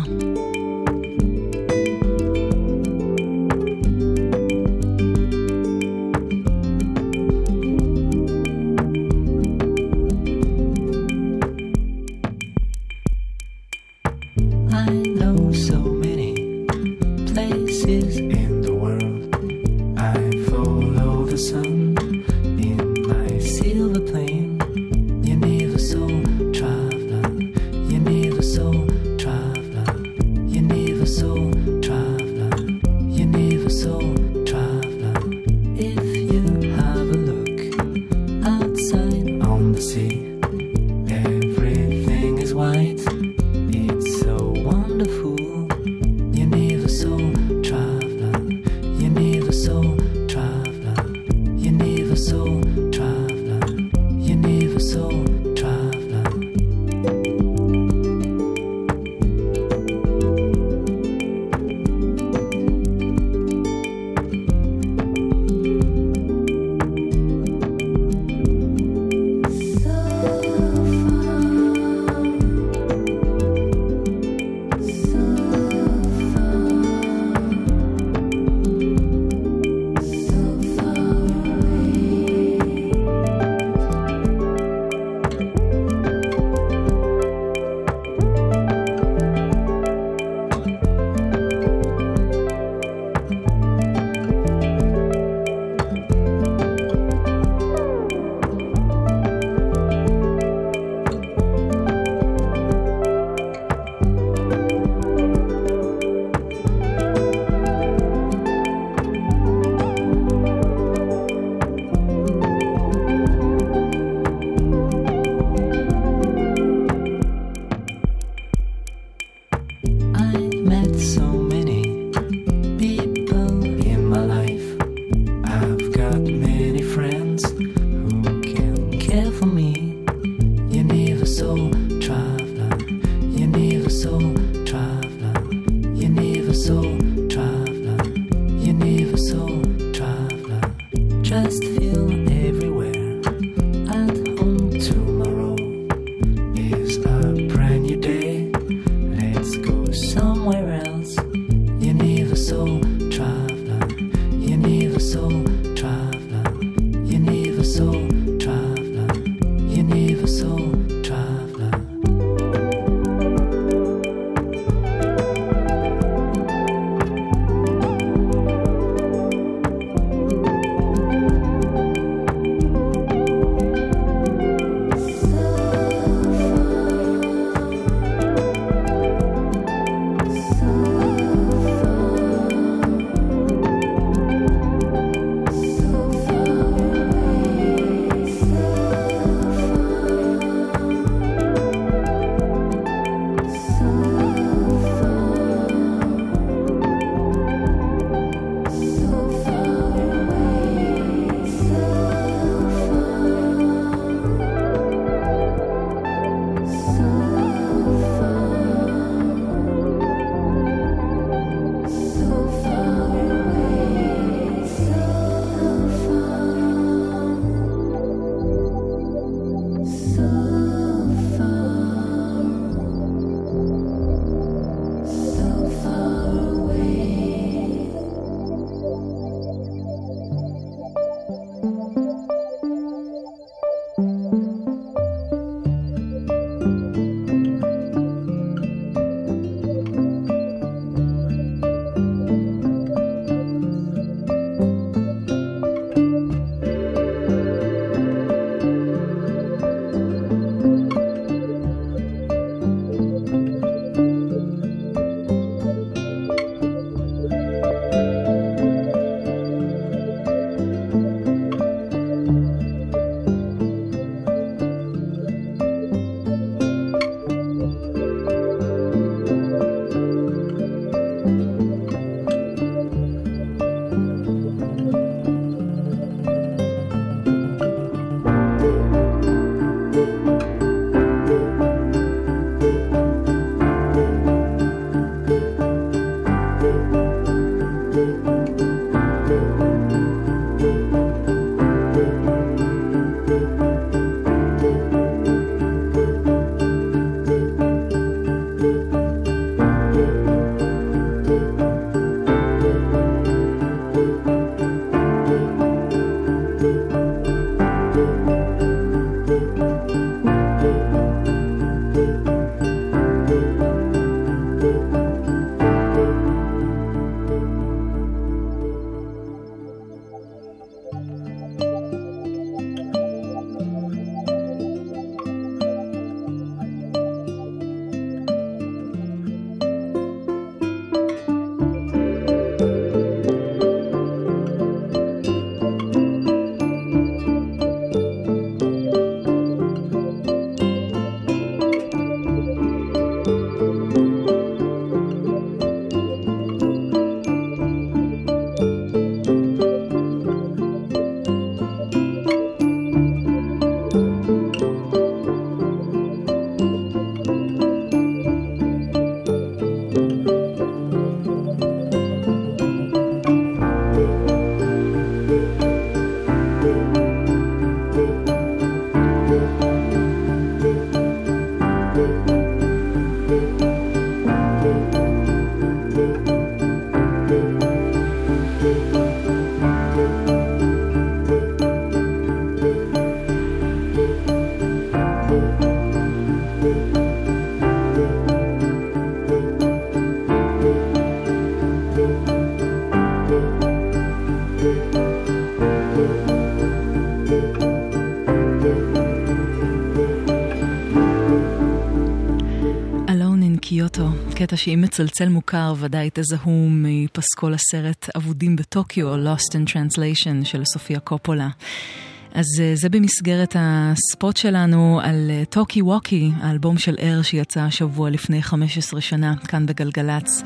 קטע שאם מצלצל מוכר ודאי תזהו מפסקול הסרט אבודים בטוקיו, Lost in Translation של סופיה קופולה. אז זה במסגרת הספוט שלנו על טוקי ווקי, האלבום של אר שיצא השבוע לפני חמש עשרה שנה כאן בגלגלץ.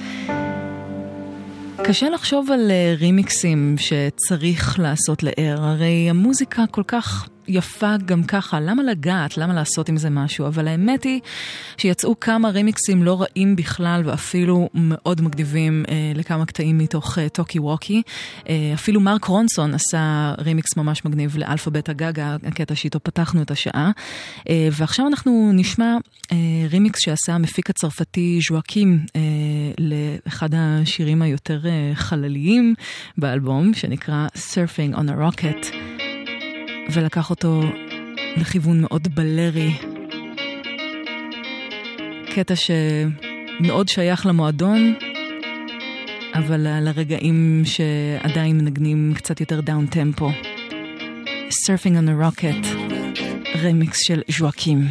קשה לחשוב על רימיקסים שצריך לעשות לאר, הרי המוזיקה כל כך יפה גם ככה, למה לגעת, למה לעשות עם זה משהו? אבל האמת היא שיצאו כמה רימיקסים לא רעים בכלל ואפילו מאוד מגניבים אה, לכמה קטעים מתוך אה, טוקי ווקי. אה, אפילו מרק רונסון עשה רימיקס ממש מגניב לאלפאבית הגגה, הקטע שאיתו פתחנו את השעה. אה, ועכשיו אנחנו נשמע אה, רימיקס שעשה המפיק הצרפתי ז'ואקים אה, לאחד השירים היותר אה, חלליים באלבום, שנקרא Surfing on a Rocket. ולקח אותו לכיוון מאוד בלרי. קטע שמאוד שייך למועדון, אבל לרגעים שעדיין מנגנים קצת יותר דאון טמפו. Surfing on a Rocket, רמיקס של ז'ואקים.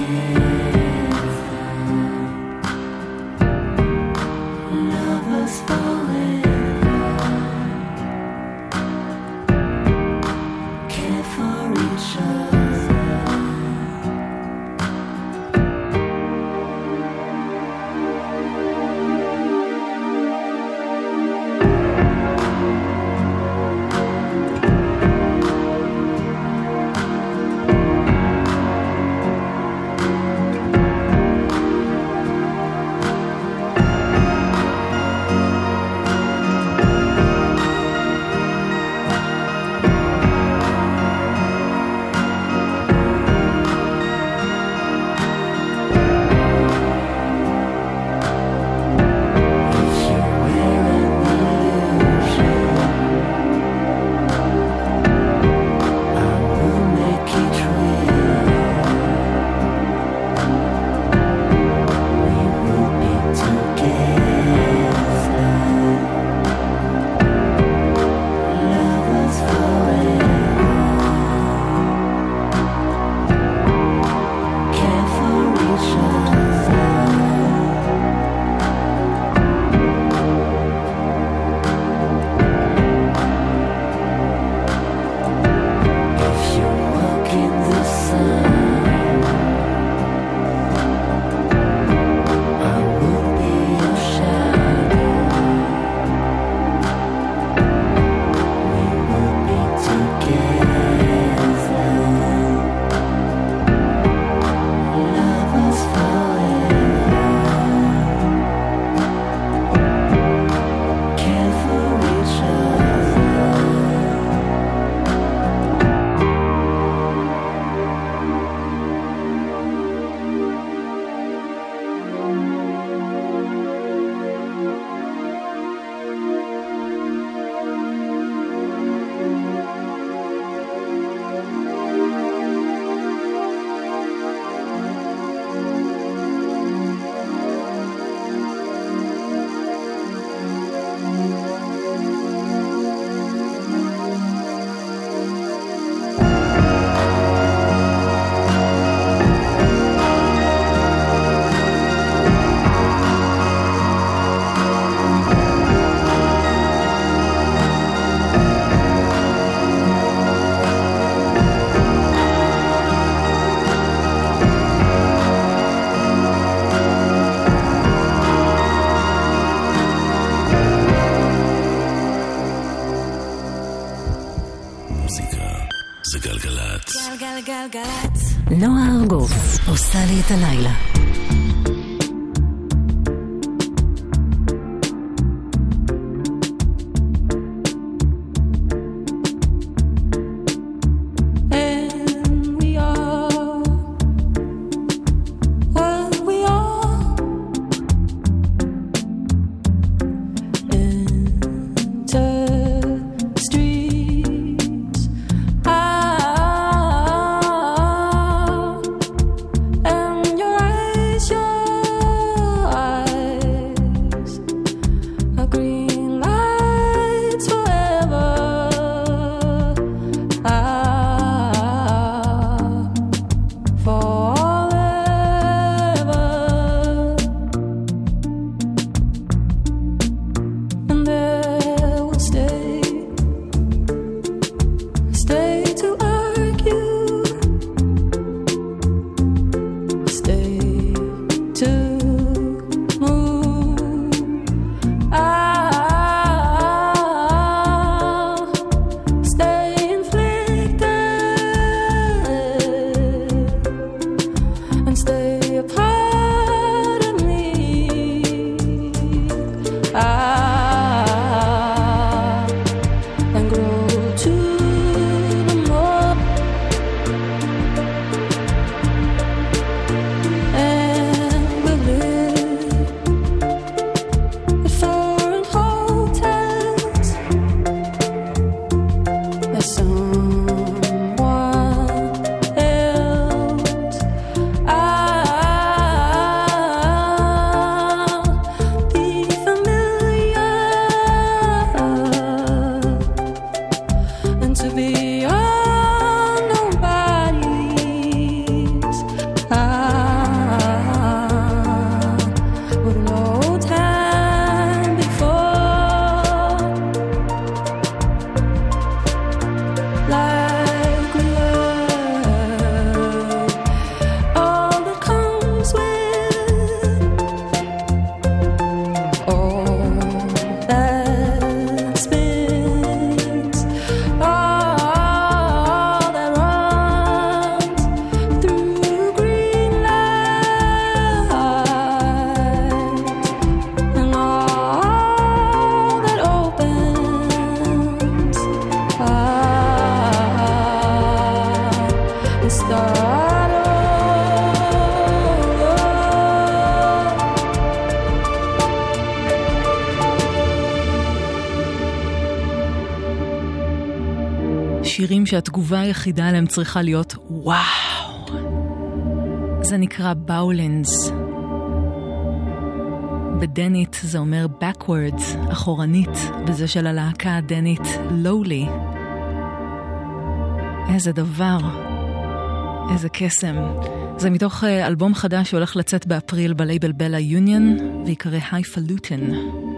גלגלצ. נועה ארגוב עושה לי את הלילה. Your שירים שהתגובה היחידה עליהם צריכה להיות וואו. זה נקרא באולנס. בדנית זה אומר backwards, אחורנית, וזה של הלהקה הדנית לולי. איזה דבר, איזה קסם. זה מתוך אלבום חדש שהולך לצאת באפריל בלייבל בלה יוניון, ויקרא היפלוטן.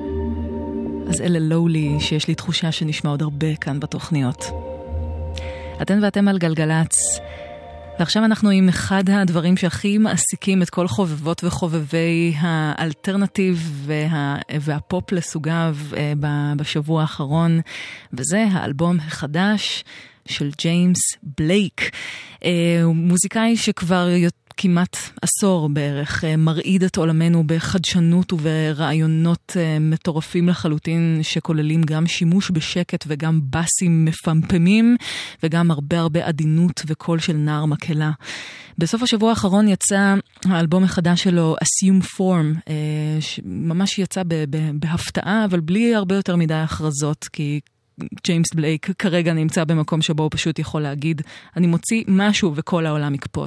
אז אלה לולי שיש לי תחושה שנשמע עוד הרבה כאן בתוכניות. אתן ואתם על גלגלץ, ועכשיו אנחנו עם אחד הדברים שהכי מעסיקים את כל חובבות וחובבי האלטרנטיב וה... והפופ לסוגיו בשבוע האחרון, וזה האלבום החדש של ג'יימס בלייק. הוא מוזיקאי שכבר כמעט עשור בערך מרעיד את עולמנו בחדשנות וברעיונות מטורפים לחלוטין, שכוללים גם שימוש בשקט וגם בסים מפמפמים וגם הרבה הרבה עדינות וקול של נער מקהלה. בסוף השבוע האחרון יצא האלבום החדש שלו Assume Form, ממש יצא בהפתעה אבל בלי הרבה יותר מדי הכרזות, כי ג'יימס בלייק כרגע נמצא במקום שבו הוא פשוט יכול להגיד אני מוציא משהו וכל העולם יקפוץ.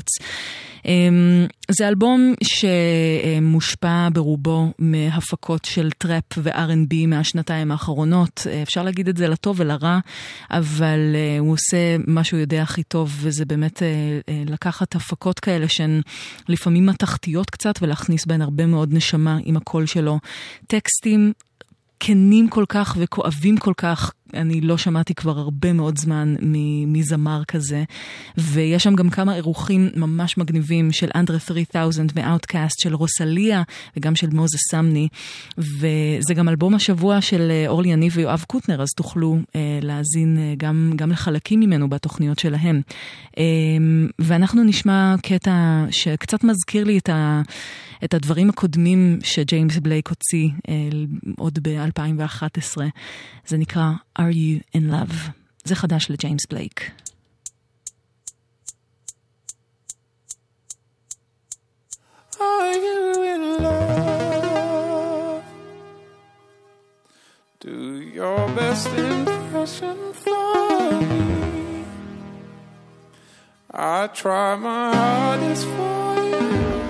זה אלבום שמושפע ברובו מהפקות של טראפ ו-אר אנד בי מהשנתיים האחרונות. אפשר להגיד את זה לטוב ולרע, אבל הוא עושה מה שהוא יודע הכי טוב, וזה באמת לקחת הפקות כאלה שהן לפעמים מתחתיות קצת ולהכניס בהן הרבה מאוד נשמה עם הקול שלו. טקסטים כנים כל כך וכואבים כל כך, אני לא שמעתי כבר הרבה מאוד זמן מזמר כזה, ויש שם גם כמה אירוחים ממש מגניבים של אנדרה שלוש אלף מאוטקאסט, של רוסליה וגם של מוזס סמני, וזה גם אלבום השבוע של אורלי יניב ויואב קוטנר, אז תוכלו אה, להזין אה, גם, גם לחלקים ממנו בתוכניות שלהם. אה, ואנחנו נשמע קטע שקצת מזכיר לי את ה... את הדברים הקודמים שג'יימס בלייק הוציא אה, עוד ב-אלפיים ואחת עשרה. זה נקרא Are You in Love. זה חדש לג'יימס בלייק. Are you in love? Do your best impression for me. I try my hardest for you.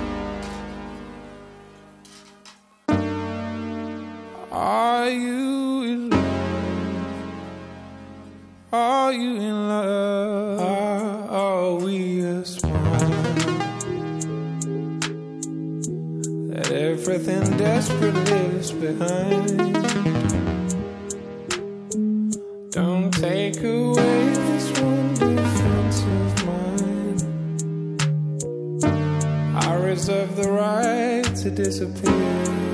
Are you in love? Are you in love? Are, are we a smile that everything desperate leaves behind? Don't take away this one difference of mine. I reserve the right to disappear.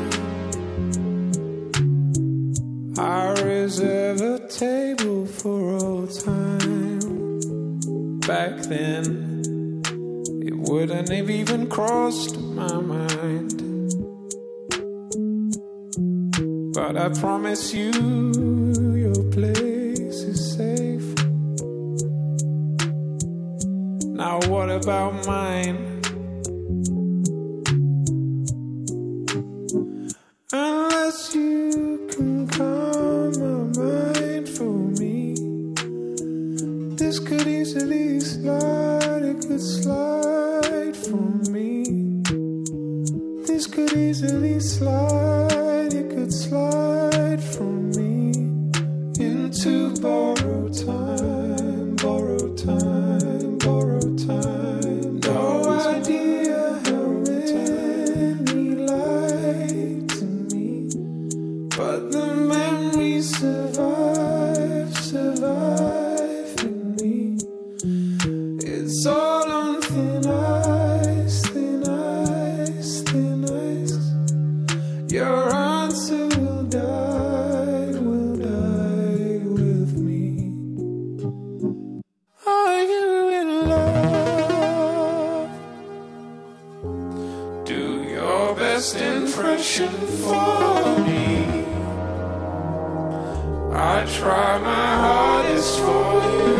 I reserve a table for old time. Back then, it wouldn't have even crossed my mind. But I promise you, your place is safe. Now what about mine? Unless you can calm my mind for me, this could easily slide, it could slide for me. This could easily slide, it could slide from me into borrowed time, borrowed time, borrowed time. No idea how many lied to me, but the memories survive, survive in me. It's all on thin ice, thin ice, thin ice. Your answer will die, will die with me. Are you in love? Do your best impression for me. I try my hardest for you.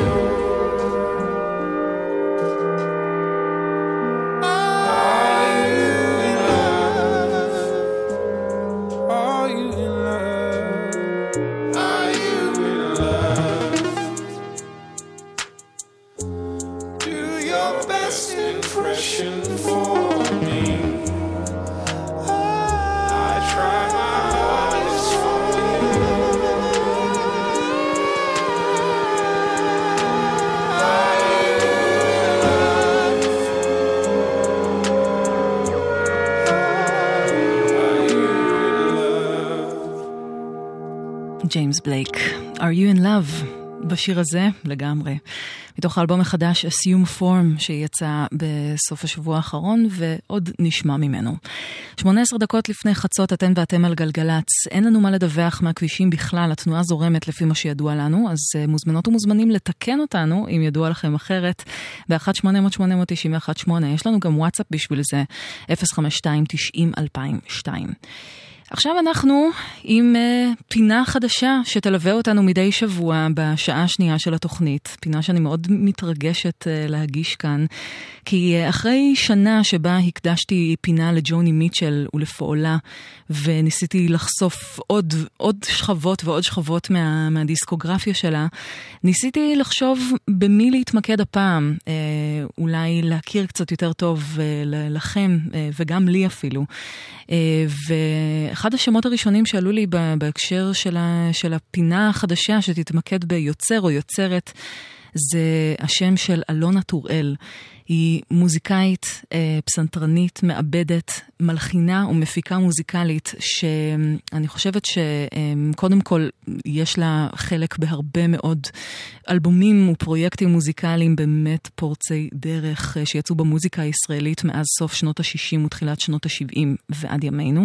ג'יימס בלייק, Are You in Love? בשיר הזה לגמרי. מתוך האלבום החדש Assume Form שיצא בסוף השבוע האחרון ועוד נשמע ממנו. שמונה עשרה דקות לפני חצות אתן ואתם על גלגלץ. אין לנו מה לדווח מהכבישים בכלל, התנועה זורמת לפי מה שידוע לנו, אז מוזמנות ומוזמנים לתקן אותנו אם ידוע לכם אחרת ב-אחת שמונה אפס אפס שמונה תשע אחת שמונה. יש לנו גם וואטסאפ בשביל זה אפס חמש שתיים תשעים אלפיים ושתיים. עכשיו אנחנו עם uh, פינה חדשה שתלווה אותנו מדי שבוע בשעה השנייה של התוכנית. פינה שאני מאוד מתרגשת uh, להגיש כאן, כי uh, אחרי שנה שבה הקדשתי פינה לג'וני מיטשל ולפעולה, וניסיתי לחשוף עוד, עוד שכבות ועוד שכבות מה, מהדיסקוגרפיה שלה, ניסיתי לחשוב במי להתמקד הפעם, uh, אולי להכיר קצת יותר טוב uh, לכם uh, וגם לי אפילו. Uh, ו... אחד השמות הראשונים שעלו לי בהקשר של, ה, של הפינה החדשה שתתמקד ביוצר או יוצרת, זה השם של אלונה טוראל. היא מוזיקאית, פסנתרנית, מעבדת, מלחינה ומפיקה מוזיקלית, שאני חושבת שקודם כל יש לה חלק בהרבה מאוד אלבומים ופרויקטים מוזיקליים באמת פורצי דרך שיצאו במוזיקה הישראלית מאז סוף שנות ה-שישים ותחילת שנות ה-שבעים ועד ימינו.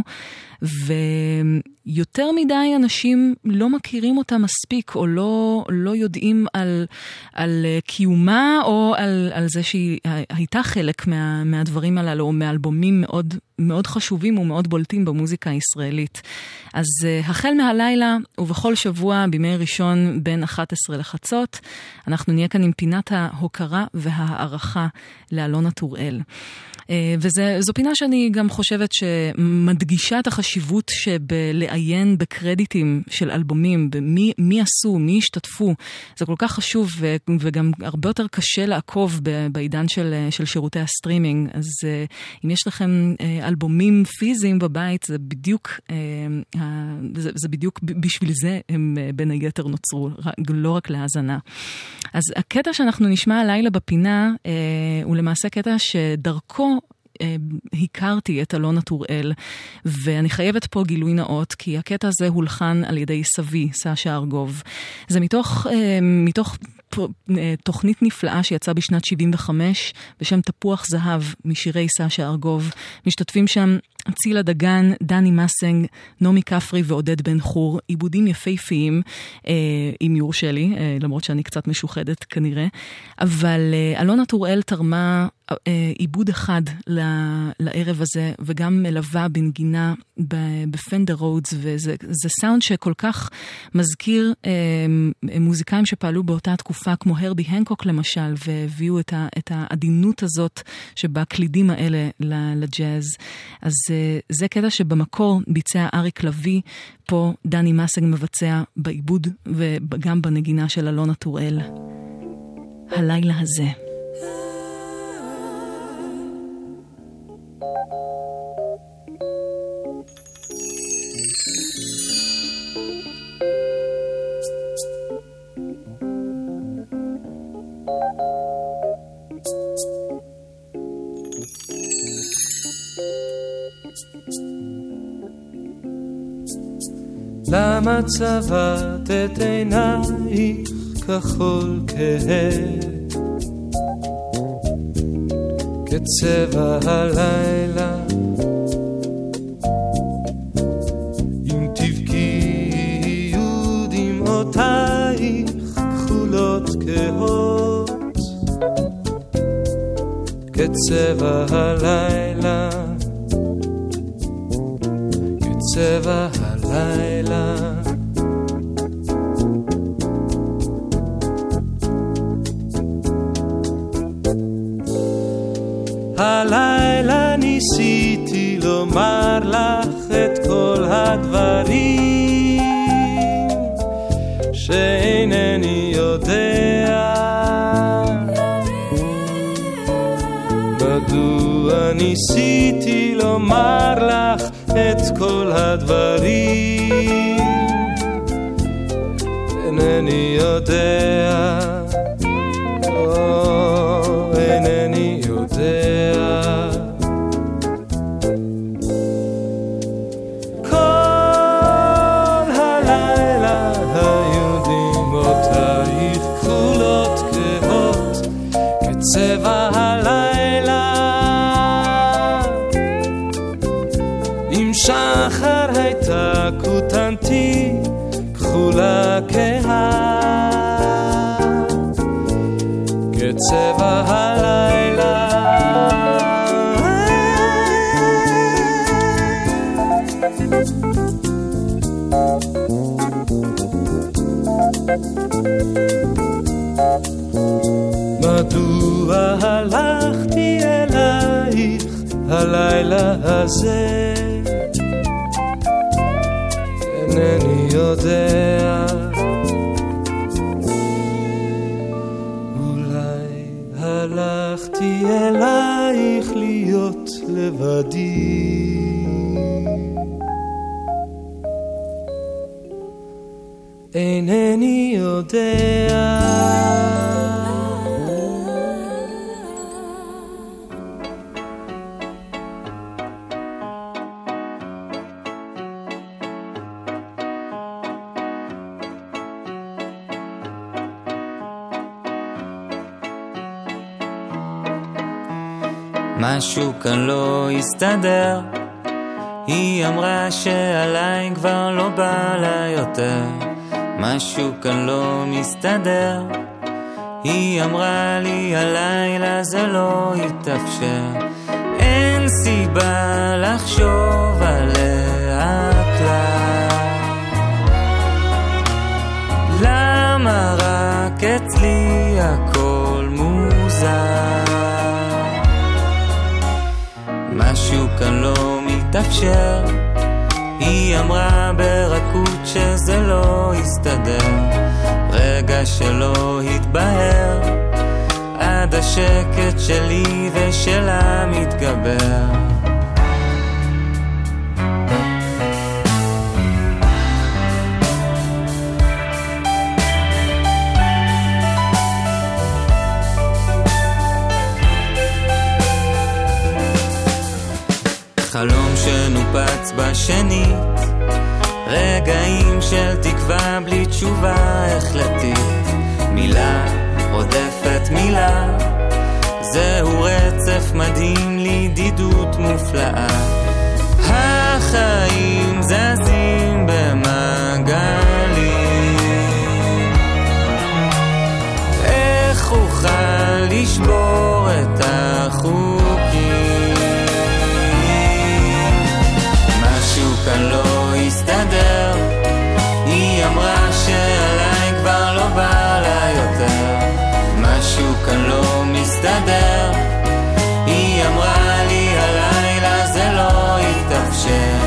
ויותר מדי אנשים לא מכירים אותה מספיק או לא, לא יודעים על, על קיומה או על, על זה שהיא הייתה חלק מה, מהדברים הללו, או מאלבומים מאוד, מאוד חשובים ומאוד בולטים במוזיקה הישראלית. אז uh, החל מהלילה ובכל שבוע בימי ראשון בין אחת עשרה לחצות, אנחנו נהיה כאן עם פינת ההוקרה וההערכה לאלונה טוראל. וזו פינה שאני גם חושבת שמדגישה את החשיבות שבלעיין בקרדיטים של אלבומים, במי מי עשו, מי השתתפו. זה כל כך חשוב וגם הרבה יותר קשה לעקוב בעידן של, של שירותי הסטרימינג. אז אם יש לכם אלבומים פיזיים בבית, זה בדיוק, זה, זה בדיוק בשביל זה הם בין היתר נוצרו, לא רק להאזנה. אז הקטע שאנחנו נשמע הלילה בפינה הוא למעשה קטע שדרכו הכרתי את אלונה טוראל, ואני חייבת פה גילוי נאות, כי הקטע הזה הולחן על ידי סבי, סשה ארגוב. זה מתוך, מתוך תוכנית נפלאה שיצאה בשנת שבעים וחמש, בשם תפוח זהב, משירי סשה ארגוב. משתתפים שם צילה דגן, דני מסנג, נומי כפרי ועודד בן חור, עיבודים יפהפיים, אה, אם יורשה לי, אה, למרות שאני קצת משוחדת כנראה, אבל אה, אלונה טוראל תרמה אה, עיבוד אחד ל, לערב הזה, וגם מלווה בנגינה בפנדר רודס, וזה זה סאונד שכל כך מזכיר אה, מוזיקאים שפעלו באותה תקופה, כמו הרבי הנקוק למשל, והביאו את, ה, את העדינות הזאת שבקלידים האלה לג'אז. אז זה קטע שבמקור ביצע אריק לוי, פה דני מסג מבצע בעיבוד וגם בנגינה של אלונה טוראל. הלילה הזה. למה צבעת את עינייך כחול כהה כצבע הלילה אם תבכי יהיו דמעותייך כחולות כהות כצבע הלילה כצבע הלילה הלילה ניסיתי לומר לך את כל הדברים שאינני יודע מדוע ניסיתי לומר לך את כל הדברים אינני יודע או אינני יודע כל הלילה מחר הייתה קוטנתי כחולה כהה כצבע הלילה מדוע הלכתי אלייך הלילה הזה אינני יודע אולי הלכתי אלייך להיות לבדי אינני יודע משהו כאן לא הסתדר היא אמרה שעליי כבר לא בא לה יותר משהו כאן לא מסתדר היא אמרה לי הלילה זה לא יתאפשר אין סיבה לחשוב עליה כלל למה רק אצלי הכל מוזר משהו כאן לא מתאפשר היא אמרה ברכות שזה לא יסתדר רגע שלא התבהר עד השקט שלי ושלה מתגבר חלום שנופץ בשנית רגעים של תקווה בלי תשובה החלטית מילה רודפת מילה זהו רצף מדהים לידידות מופלאה החיים זזים במעגלים איך אוכל לשבור את החוקים משהו כאן לא הסתדר היא אמרה שעליי כבר לא בא לה יותר משהו כאן לא מסתדר היא אמרה לי הלילה זה לא יתאפשר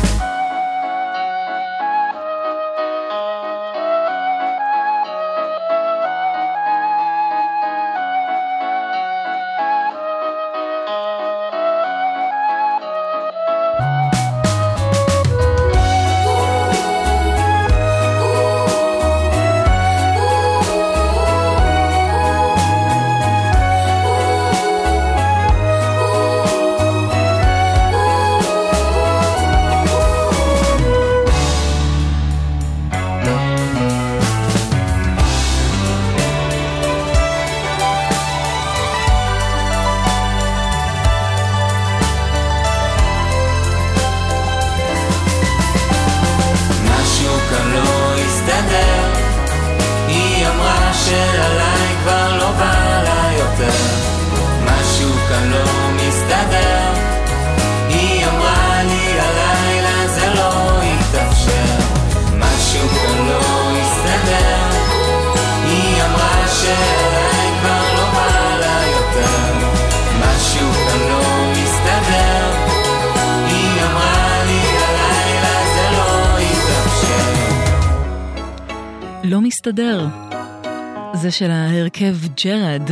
לא מסתדר. זה של ההרכב ג'רד,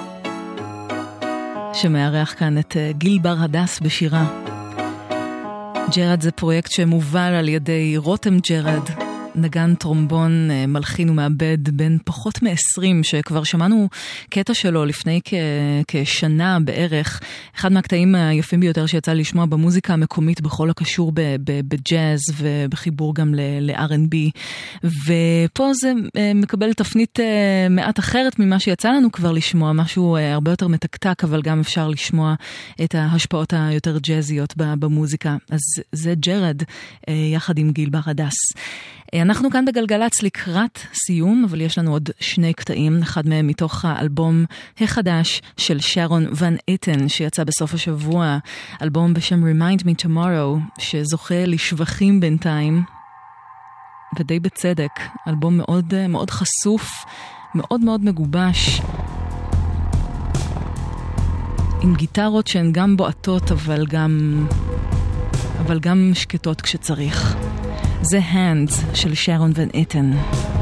שמארח כאן את גיל בר הדס בשירה. ג'רד זה פרויקט שמובל על ידי רותם ג'רד, נגן טרומבון, מלחין ומעבד בן פחות מ-עשרים, שכבר שמענו קטע שלו לפני כ- כשנה בערך, אחד מהקטעים היפים ביותר שיצא לשמוע במוזיקה המקומית בכל הקשור ב- ב- בג'אז ובחיבור גם ל-אר אנד בי, ופה זה מקבל תפנית מעט אחרת ממה שיצא לנו כבר לשמוע, משהו הרבה יותר מתקתק, אבל גם אפשר לשמוע את ההשפעות היותר ג'אזיות במוזיקה. אז זה ג'רד יחד עם גיל ברדס. אנחנו כאן בגלגלץ לקראת סיום, אבל יש לנו עוד שני קטעים, אחד מהם מתוך האלבום החדש של שרון ון אטן, שיצא בסוף השבוע, אלבום בשם Remind Me Tomorrow, שזוכה לשבחים בינתיים, ודי בצדק, אלבום מאוד מאוד חשוף, מאוד מאוד מגובש, עם גיטרות שהן גם בועטות, אבל גם, אבל גם שקטות כשצריך. זה Hands של שרון ון אטן.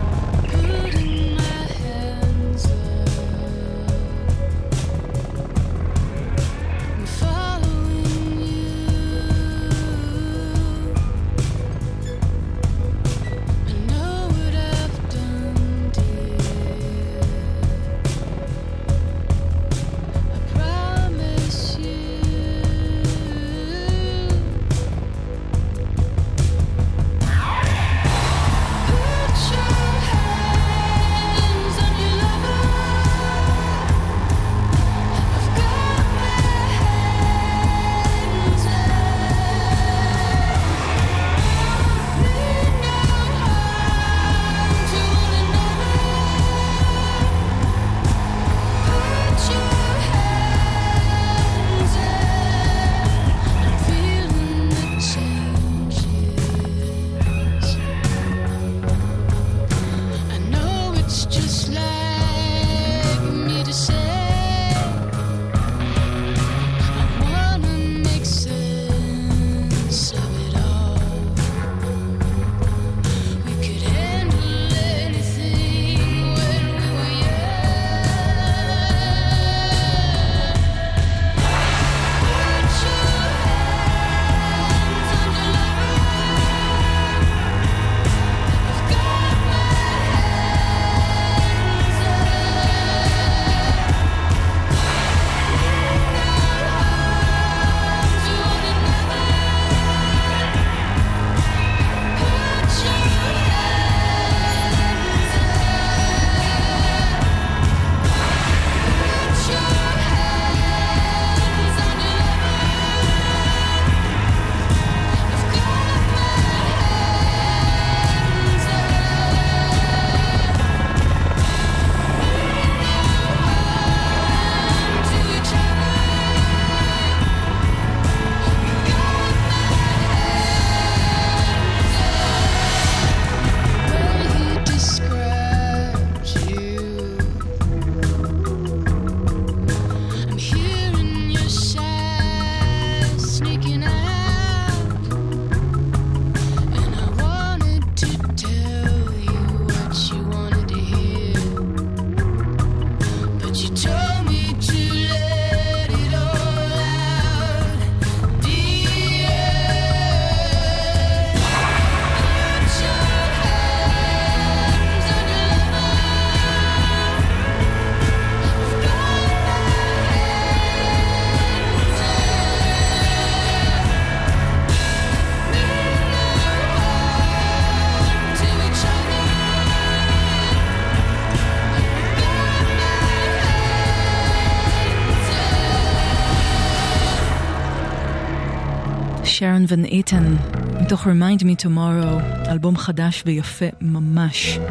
שרון ון אטן, מתוך Remind Me Tomorrow, אלבום חדש ויפה ממש.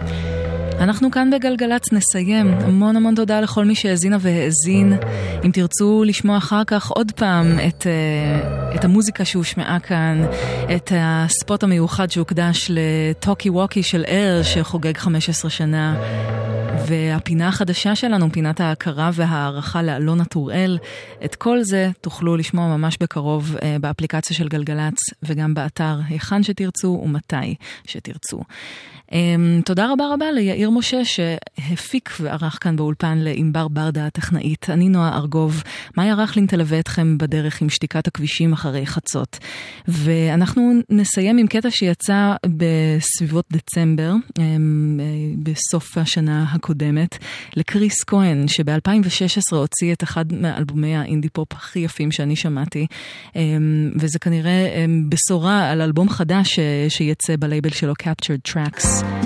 אנחנו כאן בגלגלץ נסיים. המון המון תודה לכל מי שהאזינה והאזין. אם תרצו לשמוע אחר כך עוד פעם את, את המוזיקה שהושמעה כאן, את הספוט המיוחד שהוקדש לטוקי ווקי של אר שחוגג חמש עשרה שנה, והפינה החדשה שלנו, פינת ההכרה והערכה לאלונה טוראל, את כל זה תוכלו לשמוע ממש בקרוב באפליקציה של גלגלץ וגם באתר היכן שתרצו ומתי שתרצו. תודה רבה רבה ליאיר משה שהפיק וערך כאן באולפן לאמבר ברדה הטכנאית. אני נועה ארגוב. מאיה רכלין תלווה אתכם בדרך עם שתיקת הכבישים אחרי חצות. ואנחנו נסיים עם קטע שיצא בסביבות דצמבר, בסוף השנה הקודמת, לקריס כהן, שב-אלפיים ושש עשרה הוציא את אחד מאלבומי האינדי פופ הכי יפים שאני שמעתי, וזה כנראה בשורה על אלבום חדש שיצא בלייבל שלו, Captured Tracks.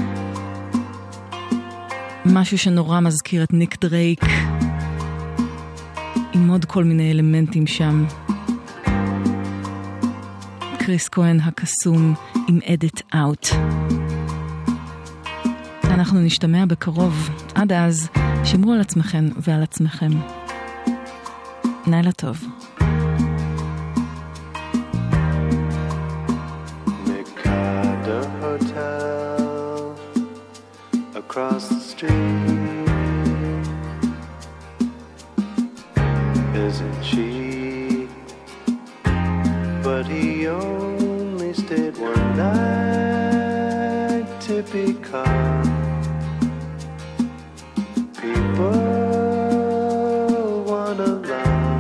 משהו שנורא מזכיר את ניק דרייק, עם עוד כל מיני אלמנטים שם. קריס כהן הקסום עם Edit Out. אנחנו נשתמע בקרוב. עד אז, שמרו על עצמכם ועל עצמכם. לילה טוב. Across the street, isn't she? But he only stayed one night, typical. People wanna love.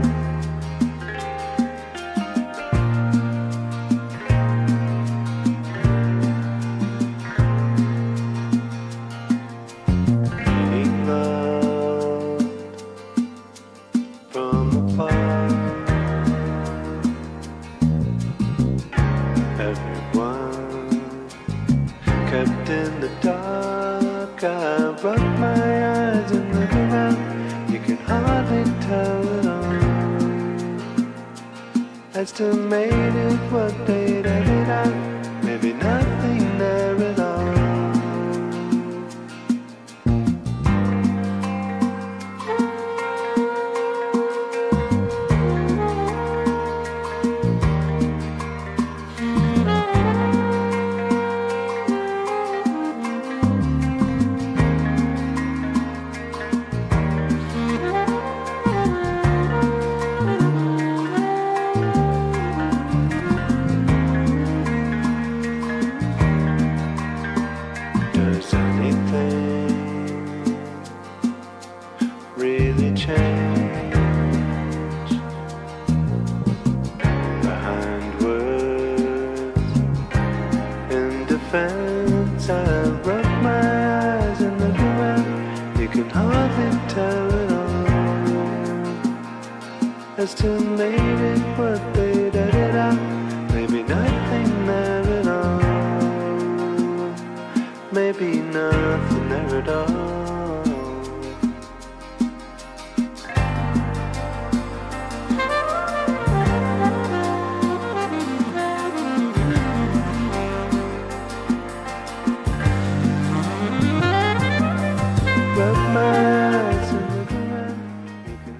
Estimated what they'd added out, maybe nothing there at all. Estimated what they'd added out.